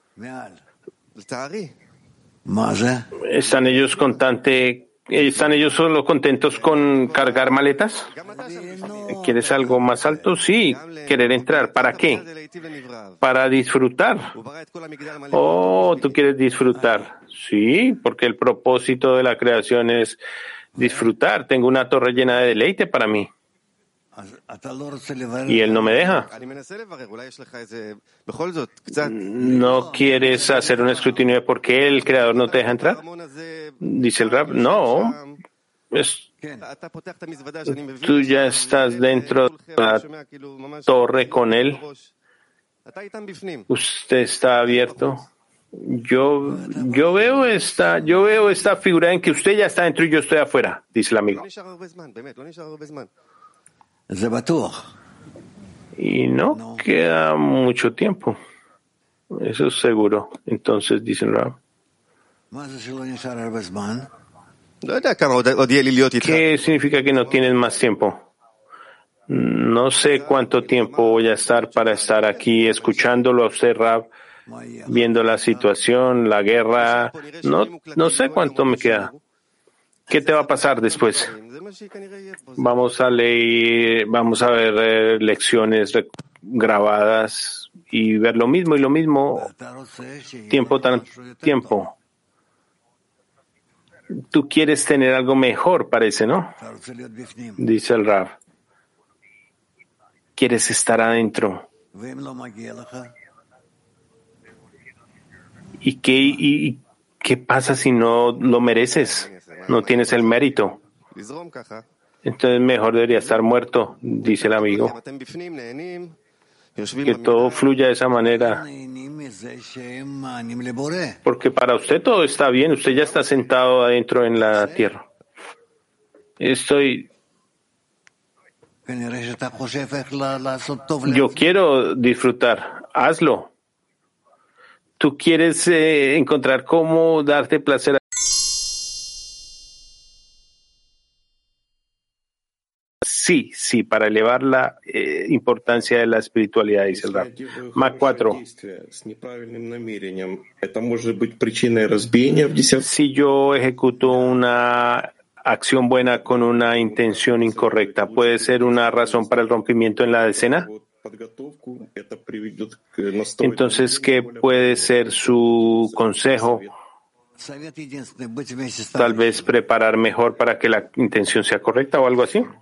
¿Están ellos contante, están ellos solo contentos con cargar maletas? ¿Quieres algo más alto? Sí, querer entrar. ¿Para qué? Para disfrutar. Oh, tú quieres disfrutar. Sí, porque el propósito de la creación es disfrutar. Tengo una torre llena de deleite para mí. Y él no me deja. ¿No quieres hacer un escrutinio de por qué el Creador no te deja entrar? Dice el Rab, no. Es, tú ya estás dentro de la torre con él. Usted está abierto. Yo, yo veo esta, yo veo esta figura en que usted ya está dentro y yo estoy afuera, dice el amigo. Y no queda mucho tiempo. Eso es seguro. Entonces, dice el Rab, ¿qué significa que no tienes más tiempo? No sé cuánto tiempo voy a estar para estar aquí escuchándolo a usted, Rab, viendo la situación, la guerra. No, no sé cuánto me queda. ¿Qué te va a pasar después? Vamos a leer, vamos a ver eh, lecciones grabadas y ver lo mismo y lo mismo, tiempo tras tiempo. Tú quieres tener algo mejor, parece, ¿no? Dice el Rav. Quieres estar adentro. ¿Y qué, y, qué pasa si no lo mereces? No tienes el mérito. Entonces mejor debería estar muerto, dice el amigo. Que todo fluya de esa manera. Porque para usted todo está bien, usted ya está sentado adentro en la tierra. Estoy... Yo quiero disfrutar, hazlo. Tú quieres eh, encontrar cómo darte placer. Sí, sí, para elevar la eh, importancia de la espiritualidad, dice el Rab. Mac cuatro. Si yo ejecuto una acción buena con una intención incorrecta, ¿puede ser una razón para el rompimiento en la decena? Entonces, ¿qué puede ser su consejo? Tal vez preparar mejor para que la intención sea correcta o algo así.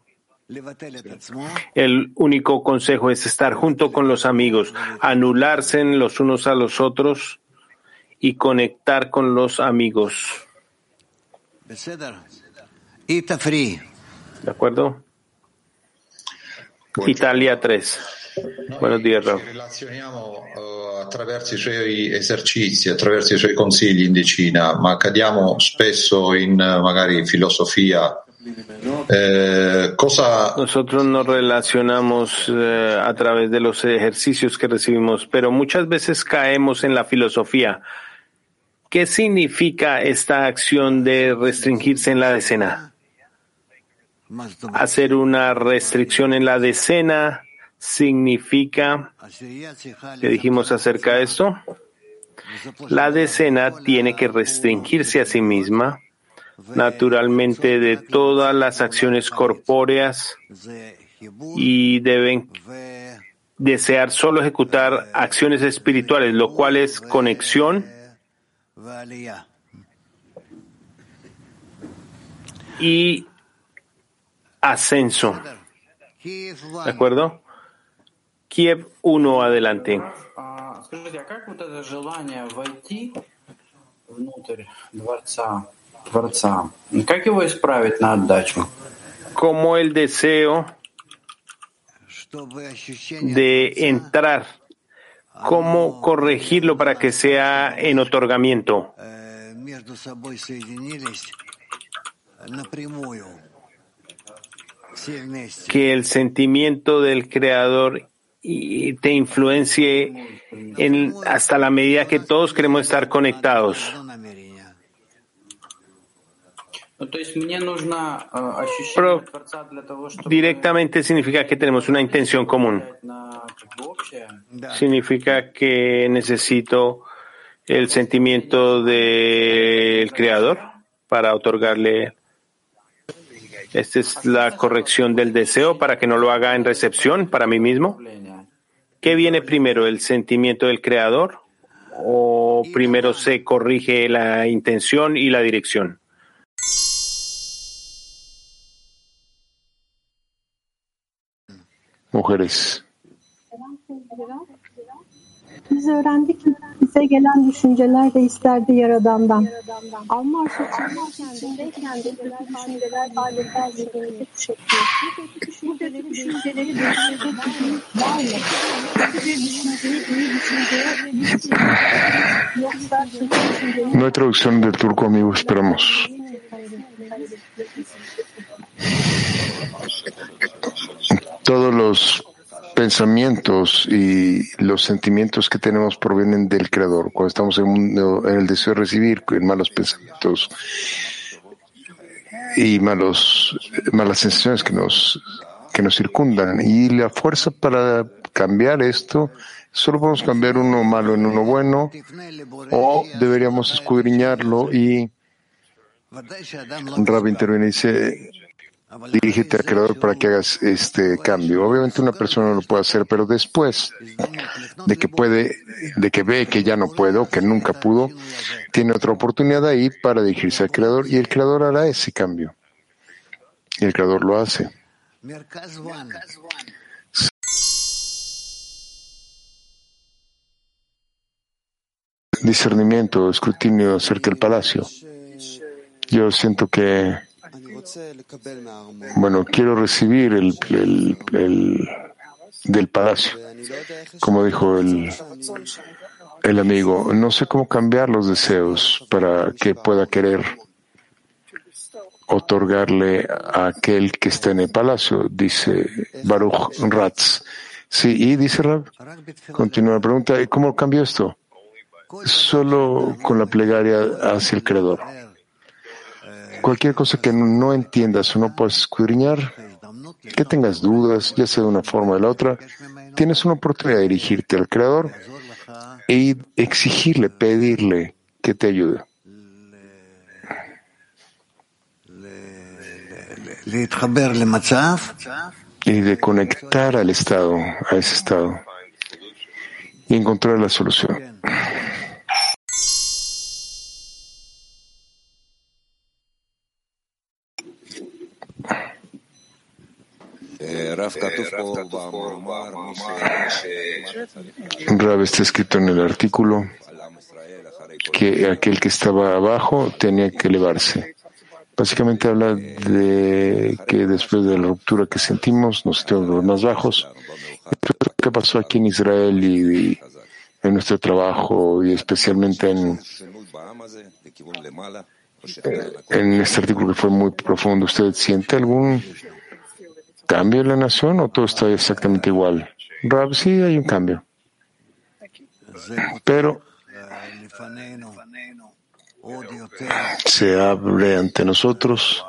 El único consejo es estar junto con los amigos, anularse los unos a los otros y conectar con los amigos. ¿De acuerdo? Italia tres. Buenos días, Rav. Ci relazioniamo uh, attraverso i suoi esercizi, attraverso i suoi consigli in decina, ma cadiamo spesso in uh, magari filosofia. Eh, cosa... Nosotros nos relacionamos eh, a través de los ejercicios que recibimos, pero muchas veces caemos en la filosofía. ¿Qué significa esta acción de restringirse en la decena? Hacer una restricción en la decena significa, ¿qué dijimos acerca de esto? La decena tiene que restringirse a sí misma, naturalmente, de todas las acciones corpóreas y deben desear solo ejecutar acciones espirituales, lo cual es conexión y ascenso. ¿De acuerdo? Kiev uno, adelante. Скажите, а как вот это желание войти внутрь дворца, дворца, как его исправить на отдачу? Como el deseo de entrar, cómo corregirlo para que sea en otorgamiento. Que el sentimiento del Creador te influencie en, hasta la medida que todos queremos estar conectados. Pero directamente significa que tenemos una intención común. Significa que necesito el sentimiento del Creador para otorgarle. Esta es la corrección del deseo para que no lo haga en recepción para mí mismo. ¿Qué viene primero, el sentimiento del Creador o primero se corrige la intención y la dirección? Mujeres. Biz öğrendik ki bize gelen düşünceler de isterdi Yaradan'dan. Alma aşamasındayken de kötü düşünceler adeta zihnimizi kuşatıyor. Bu kötü düşünceleri düşünceleri düşünecek gücümüz var mı? Kötü bir düşünceyi iyi düşünceye yoksa kötü düşünceyi... No hay traducción del turco, amigo, esperamos. Todos los pensamientos y los sentimientos que tenemos provienen del Creador. Cuando estamos en, mundo, en el deseo de recibir, en malos pensamientos y malos, malas sensaciones que nos, que nos circundan. Y la fuerza para cambiar esto, solo podemos cambiar uno malo en uno bueno, o deberíamos escudriñarlo. Y Rabbi interviene y dice: dirígete al Creador para que hagas este cambio. Obviamente una persona no lo puede hacer, pero después de que puede, de que ve que ya no puede o que nunca pudo, tiene otra oportunidad ahí para dirigirse al Creador y el Creador hará ese cambio. Y el Creador lo hace. Discernimiento, escrutinio acerca del palacio. Yo siento que Bueno, quiero recibir el, el, el del palacio, como dijo el, el amigo. No sé cómo cambiar los deseos para que pueda querer otorgarle a aquel que está en el palacio, dice Baruch Ratz. Sí, y dice Rab, continúa la pregunta, ¿y cómo cambio esto? Solo con la plegaria hacia el Creador. Cualquier cosa que no entiendas o no puedas escudriñar, que tengas dudas, ya sea de una forma o de la otra, tienes una oportunidad de dirigirte al Creador e exigirle, pedirle que te ayude. Y de conectar al estado, a ese estado, y encontrar la solución. Rab, está escrito en el artículo que aquel que estaba abajo tenía que elevarse Básicamente habla de que después de la ruptura que sentimos, nos sentimos más bajos. Esto es lo que pasó aquí en Israel y, y en nuestro trabajo y especialmente en, en este artículo que fue muy profundo. ¿Usted siente algún cambio en la nación o todo está exactamente igual? Rab, sí, hay un cambio. Pero se abre ante nosotros,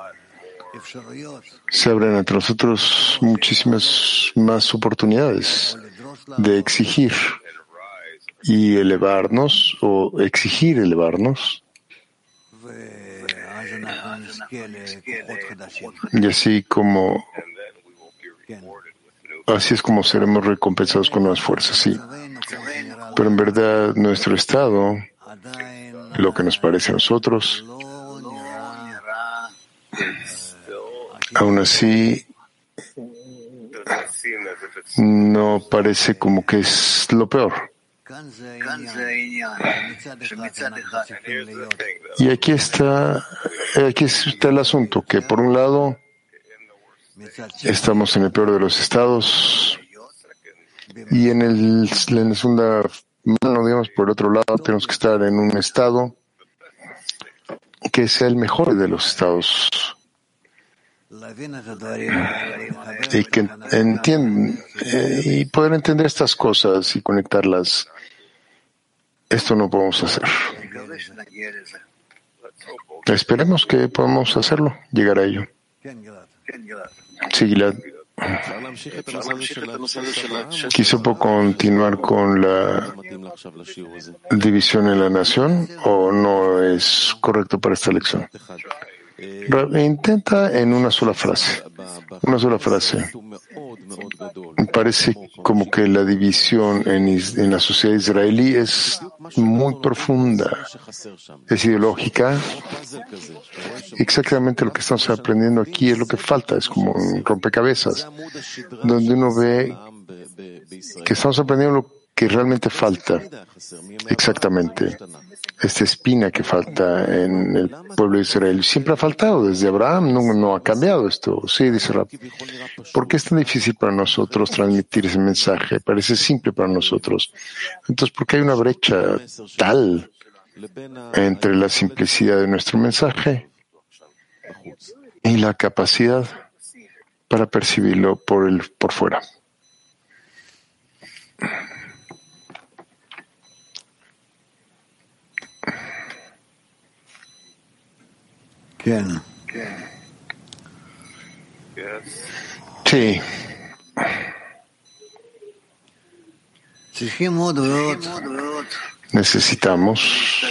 se abren ante nosotros muchísimas más oportunidades de exigir y elevarnos o exigir elevarnos. Y así como así es como seremos recompensados con nuevas fuerzas, sí. Pero en verdad nuestro estado, lo que nos parece a nosotros, aún así no parece como que es lo peor. Y aquí está, aquí está el asunto, que por un lado estamos en el peor de los estados y en, el, en la segunda mano, digamos, por el otro lado, tenemos que estar en un estado que sea el mejor de los estados y que entienden eh, y poder entender estas cosas y conectarlas. Esto no podemos hacer. Esperemos que podamos hacerlo, llegar a ello. Sí, Gilad. ¿Quiso continuar con la división en la nación o no es correcto para esta lección? Intenta en una sola frase. Una sola frase. Me parece como que la división en, en la sociedad israelí es muy profunda, es ideológica. Exactamente lo que estamos aprendiendo aquí es lo que falta, es como un rompecabezas, donde uno ve que estamos aprendiendo lo que realmente falta. Exactamente. Esta espina que falta en el pueblo de Israel siempre ha faltado desde Abraham, no, no ha cambiado esto. Sí, dice Rab. ¿Por qué es tan difícil para nosotros transmitir ese mensaje? Parece simple para nosotros. Entonces, ¿por qué hay una brecha tal entre la simplicidad de nuestro mensaje y la capacidad para percibirlo por el por fuera? Sí. Necesitamos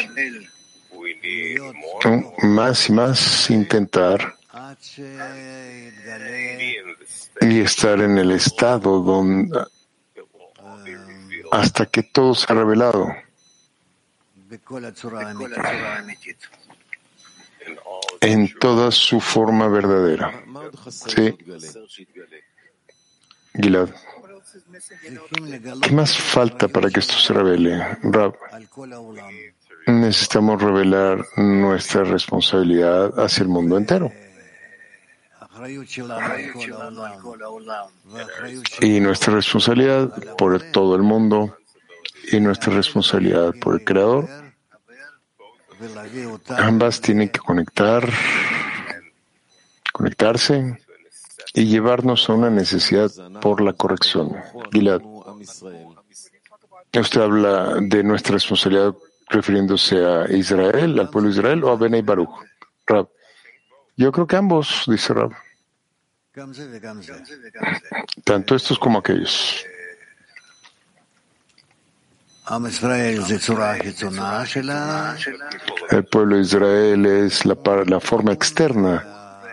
más y más intentar y estar en el estado donde hasta que todo se ha revelado en toda su forma verdadera. Sí. Gilad. ¿Qué más falta para que esto se revele? Rab, necesitamos revelar nuestra responsabilidad hacia el mundo entero. Y nuestra responsabilidad por todo el mundo y nuestra responsabilidad por el Creador. Ambas tienen que conectar, conectarse y llevarnos a una necesidad por la corrección. Gilad, ¿usted habla de nuestra responsabilidad refiriéndose a Israel, al pueblo de Israel, o a Benei Baruch? Rab, yo creo que ambos, dice Rab. Tanto estos como aquellos. El pueblo de Israel es la, la forma externa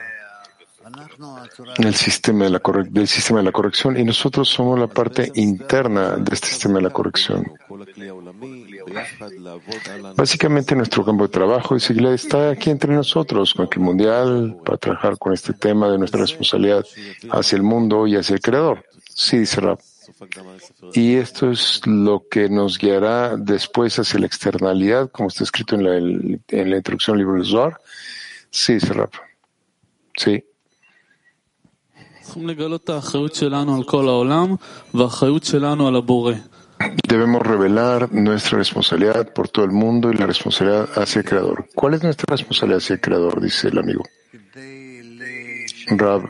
del sistema de la corre- del sistema de la corrección y nosotros somos la parte interna de este sistema de la corrección. Básicamente nuestro campo de trabajo y seguridad está aquí entre nosotros, con el mundial, para trabajar con este tema de nuestra responsabilidad hacia el mundo y hacia el Creador. Sí, dice Rab. Y esto es lo que nos guiará después hacia la externalidad, como está escrito en la, en la introducción al libro del Zohar. Sí, dice Rab. Sí. Debemos revelar nuestra responsabilidad por todo el mundo y la responsabilidad hacia el Creador. ¿Cuál es nuestra responsabilidad hacia el Creador? Dice el amigo. Rab,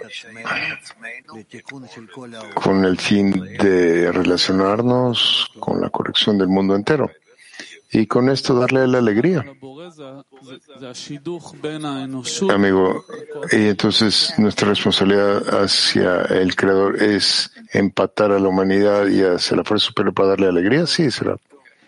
con el fin de relacionarnos con la corrección del mundo entero y con esto darle la alegría. Amigo, y entonces nuestra responsabilidad hacia el Creador es empatar a la humanidad y hacia la fuerza superior para darle alegría. Sí, será.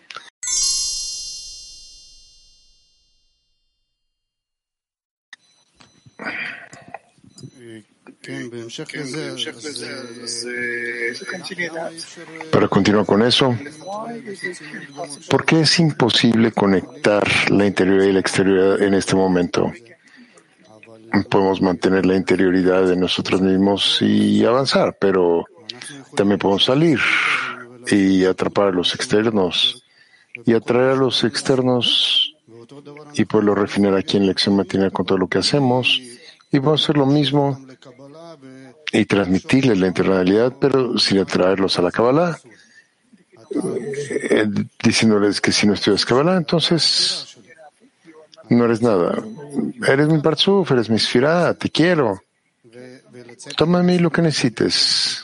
Para continuar con eso, ¿por qué es imposible conectar la interioridad y la exterioridad en este momento? Podemos mantener la interioridad de nosotros mismos y avanzar, pero también podemos salir y atrapar a los externos y atraer a los externos y poderlo refinar aquí en lección matinal con todo lo que hacemos, y podemos hacer lo mismo y transmitirles la internalidad, pero sin atraerlos a la Kabbalah, eh, diciéndoles que si no estudias Kabbalah, entonces no eres nada. Eres mi Parzuf, eres mi Sfirá, te quiero. Toma a mí lo que necesites.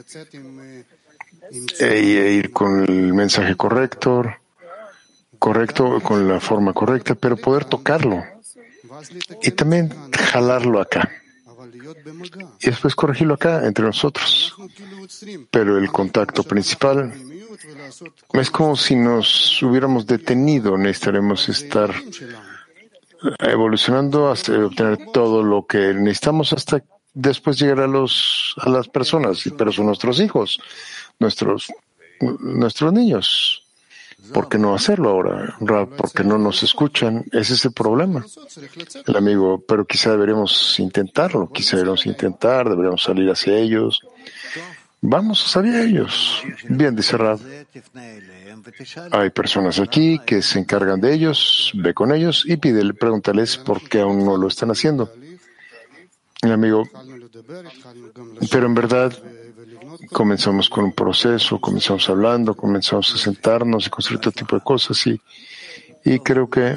E, e ir con el mensaje correcto, correcto, con la forma correcta, pero poder tocarlo. Y también jalarlo acá. Y después corregirlo acá, entre nosotros. Pero el contacto principal es como si nos hubiéramos detenido. Necesitaremos estar evolucionando hasta obtener todo lo que necesitamos hasta después llegar a los a las personas. Pero son nuestros hijos, nuestros, nuestros niños. ¿Por qué no hacerlo ahora? ¿Por qué no nos escuchan? Ese es el problema. El amigo, pero quizá deberíamos intentarlo, quizá deberíamos intentar, deberíamos salir hacia ellos. Vamos a salir a ellos. Bien, dice Rab. Hay personas aquí que se encargan de ellos, ve con ellos y pídele, pregúntales por qué aún no lo están haciendo. El amigo, pero en verdad comenzamos con un proceso, comenzamos hablando, comenzamos a sentarnos y construir todo tipo de cosas y, y creo que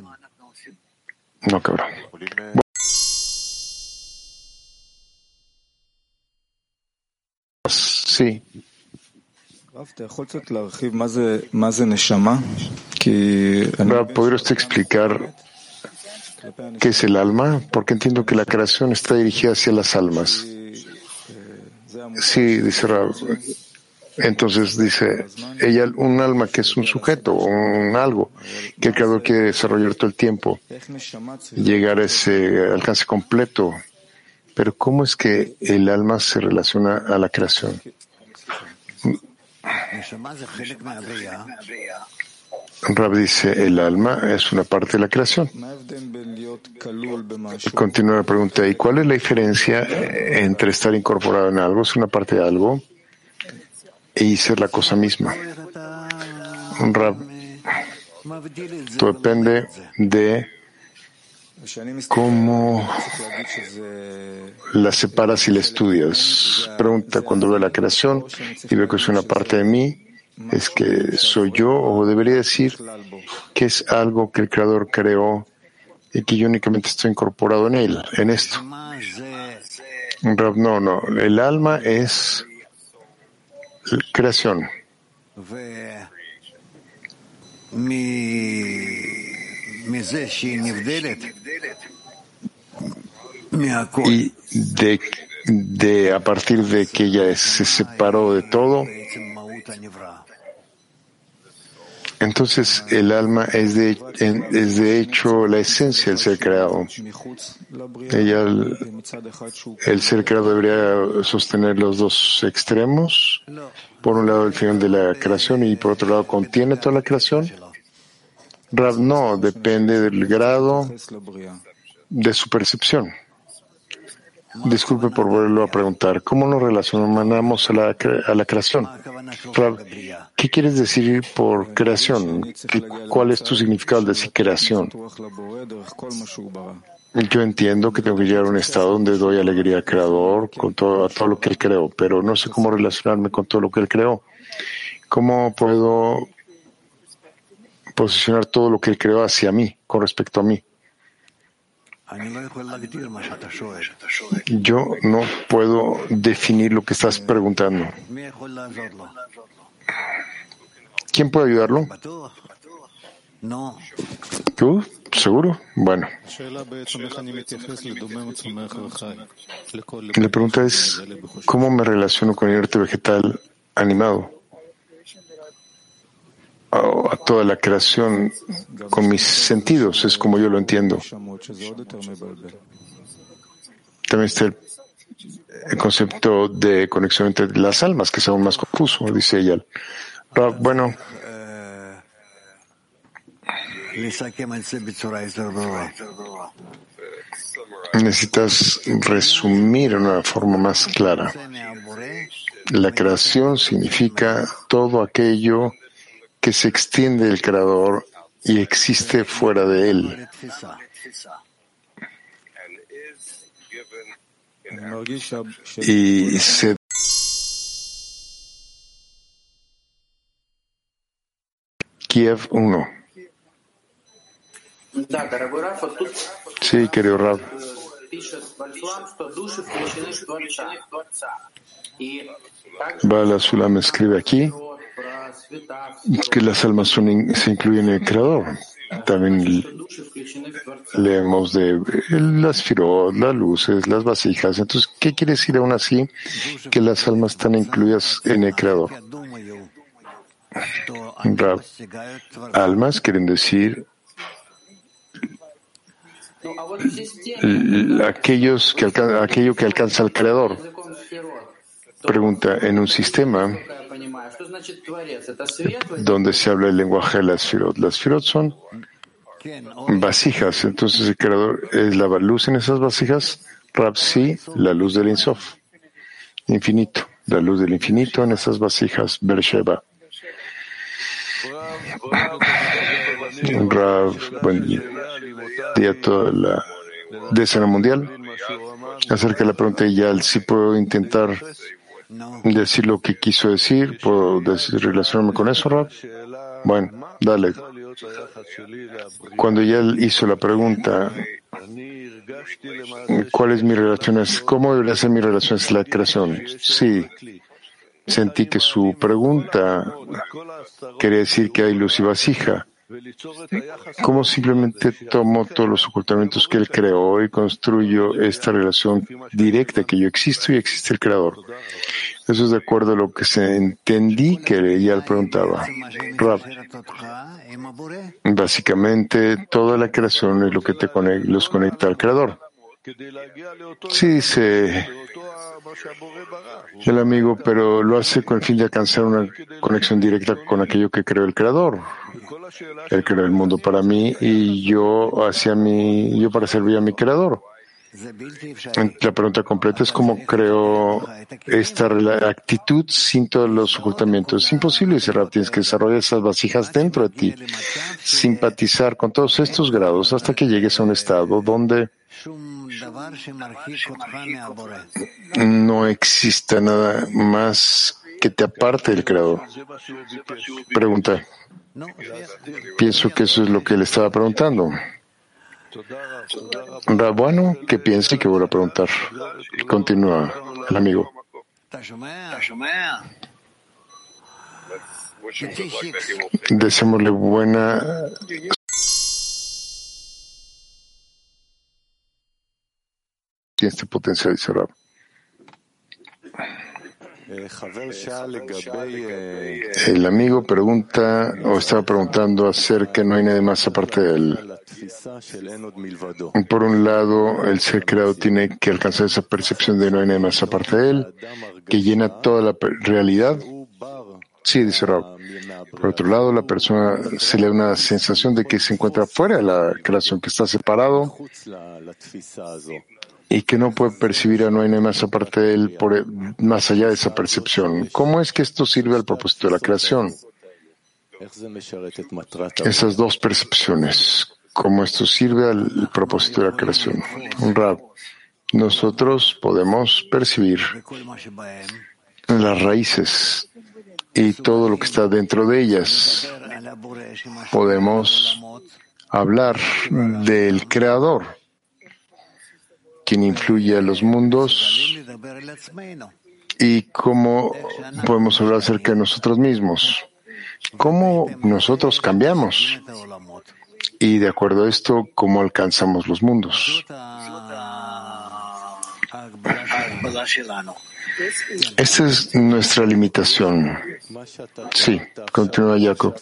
no, cabrón. Bueno. Sí. ¿Podría usted explicar qué es el alma? Porque entiendo que la creación está dirigida hacia las almas. Sí, dice Rab. Entonces dice, ella, un alma que es un sujeto, un algo que el Creador quiere desarrollar todo el tiempo, llegar a ese alcance completo. Pero ¿cómo es que el alma se relaciona a la creación? Rab dice, el alma es una parte de la creación. Continúa la pregunta, ¿y cuál es la diferencia entre estar incorporado en algo, ser una parte de algo, y ser la cosa misma? Rab, todo depende de cómo la separas y la estudias. Pregunta, cuando veo la creación y veo que es una parte de mí, ¿es que soy yo o debería decir que es algo que el Creador creó y que yo únicamente estoy incorporado en él, en esto? No, no, el alma es creación. Y de, de a partir de que ella se separó de todo, entonces el alma es de, es de hecho la esencia del ser creado. Ella, el, el ser creado debería sostener los dos extremos. Por un lado el final de la creación y por otro lado contiene toda la creación. Rab, no, depende del grado de su percepción. Disculpe por volverlo a preguntar. ¿Cómo nos relacionamos a la, a la creación? Rab, ¿qué quieres decir por creación? ¿Qué, ¿Cuál es tu significado al decir creación? Yo entiendo que tengo que llegar a un estado donde doy alegría al Creador con todo, a todo lo que Él creó, pero no sé cómo relacionarme con todo lo que Él creó. ¿Cómo puedo posicionar todo lo que Él creó hacia mí, con respecto a mí? Yo no puedo definir lo que estás preguntando. ¿Quién puede ayudarlo? ¿Tú? ¿Seguro? Bueno. La pregunta es, ¿cómo me relaciono con el inerte vegetal animado? A toda la creación con mis sentidos, es como yo lo entiendo. También está el, el concepto de conexión entre las almas, que es aún más confuso, dice ella. Pero, bueno, necesitas resumir de una forma más clara. La creación significa todo aquello que se extiende del Creador y existe fuera de él. Y se Kiev uno. Sí, querido Rab. Bala Sulam escribe aquí que las almas son in, se incluyen en el Creador. También leemos de las firot, las luces, las vasijas. Entonces, ¿qué quiere decir aún así que las almas están incluidas en el Creador? Rab, almas quieren decir aquellos que alcan, aquello que alcanza al Creador. Pregunta, en un sistema donde se habla el lenguaje de las firot, las firot son vasijas, entonces el Creador es la luz en esas vasijas. Rab, sí, la luz del Ein Sof, infinito, la luz del infinito en esas vasijas, Beersheba. Rab, buen día a toda la decena mundial. Acerca de la pregunta de Yal, si puedo intentar decir lo que quiso decir, puedo decir, relacionarme con eso, Rab. Bueno, dale. Cuando Yal hizo la pregunta, ¿cuál es mi relación? ¿Cómo debería ser mi relación con la creación? Sí. Sentí que su pregunta quería decir que hay luz y vasija. ¿Cómo simplemente tomo todos los ocultamientos que él creó y construyo esta relación directa que yo existo y existe el Creador? Eso es de acuerdo a lo que se entendí que ella le preguntaba. Rab, básicamente toda la creación es lo que te conecta, los conecta al Creador. Sí, dice el amigo, pero lo hace con el fin de alcanzar una conexión directa con aquello que creó el Creador. Él creó el mundo para mí y yo hacia mí, yo para servir a mi Creador. La pregunta completa es cómo creo esta actitud sin todos los ocultamientos. Es imposible, dice Rab, tienes que desarrollar esas vasijas dentro de ti, simpatizar con todos estos grados hasta que llegues a un estado donde no exista nada más que te aparte del Creador. Pregunta. Pienso que eso es lo que le estaba preguntando. Bueno, ¿qué piensa y qué voy a preguntar? Continúa el amigo. Deseémosle buena este potencial, dice Rab. El amigo pregunta o estaba preguntando acerca que no hay nadie más aparte de él. Por un lado, el ser creado tiene que alcanzar esa percepción de no hay nadie más aparte de él, que llena toda la realidad. Sí, dice Rab. Por otro lado, la persona se le da una sensación de que se encuentra fuera de la creación, que está separado y que no puede percibir a no hay nadie más aparte de él por, más allá de esa percepción. ¿Cómo es que esto sirve al propósito de la creación? Esas dos percepciones, cómo esto sirve al propósito de la creación. Rab, nosotros podemos percibir las raíces y todo lo que está dentro de ellas. Podemos hablar del Creador, quien influye a los mundos, y cómo podemos hablar acerca de nosotros mismos, cómo nosotros cambiamos, y de acuerdo a esto, cómo alcanzamos los mundos. Esta es nuestra limitación. Sí, continúa Jacob.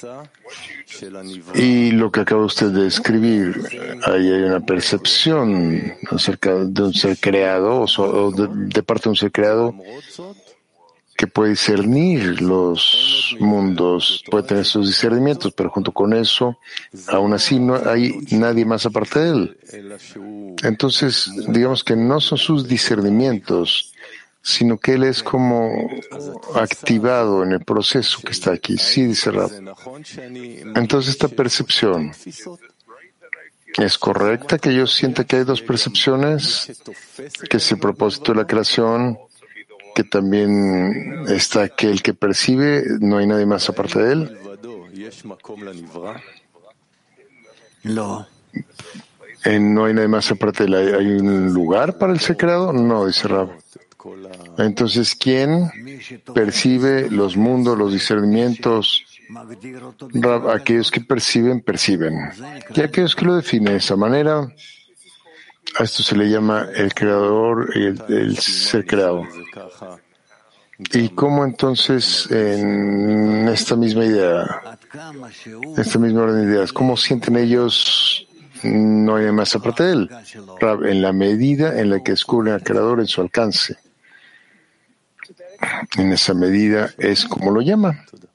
Y lo que acaba usted de escribir, ahí hay una percepción acerca de un ser creado, o, so, o de, de parte de un ser creado, que puede discernir los mundos, puede tener sus discernimientos, pero junto con eso, aún así no hay nadie más aparte de él. Entonces, digamos que no son sus discernimientos, sino que él es como activado en el proceso que está aquí. Sí, dice Rab. Entonces, esta percepción es correcta, que yo sienta que hay dos percepciones, que es el propósito de la creación, que también está aquel que percibe, no hay nadie más aparte de él. No. Eh, no hay nadie más aparte de él. ¿Hay un lugar para el ser creado? No, dice Rab. Entonces, ¿quién percibe los mundos, los discernimientos? Rab, aquellos que perciben, perciben. Y aquellos que lo definen de esa manera, a esto se le llama el creador y el, el ser creado. ¿Y cómo entonces en esta misma idea, esta misma orden de ideas, cómo sienten ellos no hay más aparte de él? Rab, en la medida en la que descubren al creador en su alcance. En esa medida es como lo llama.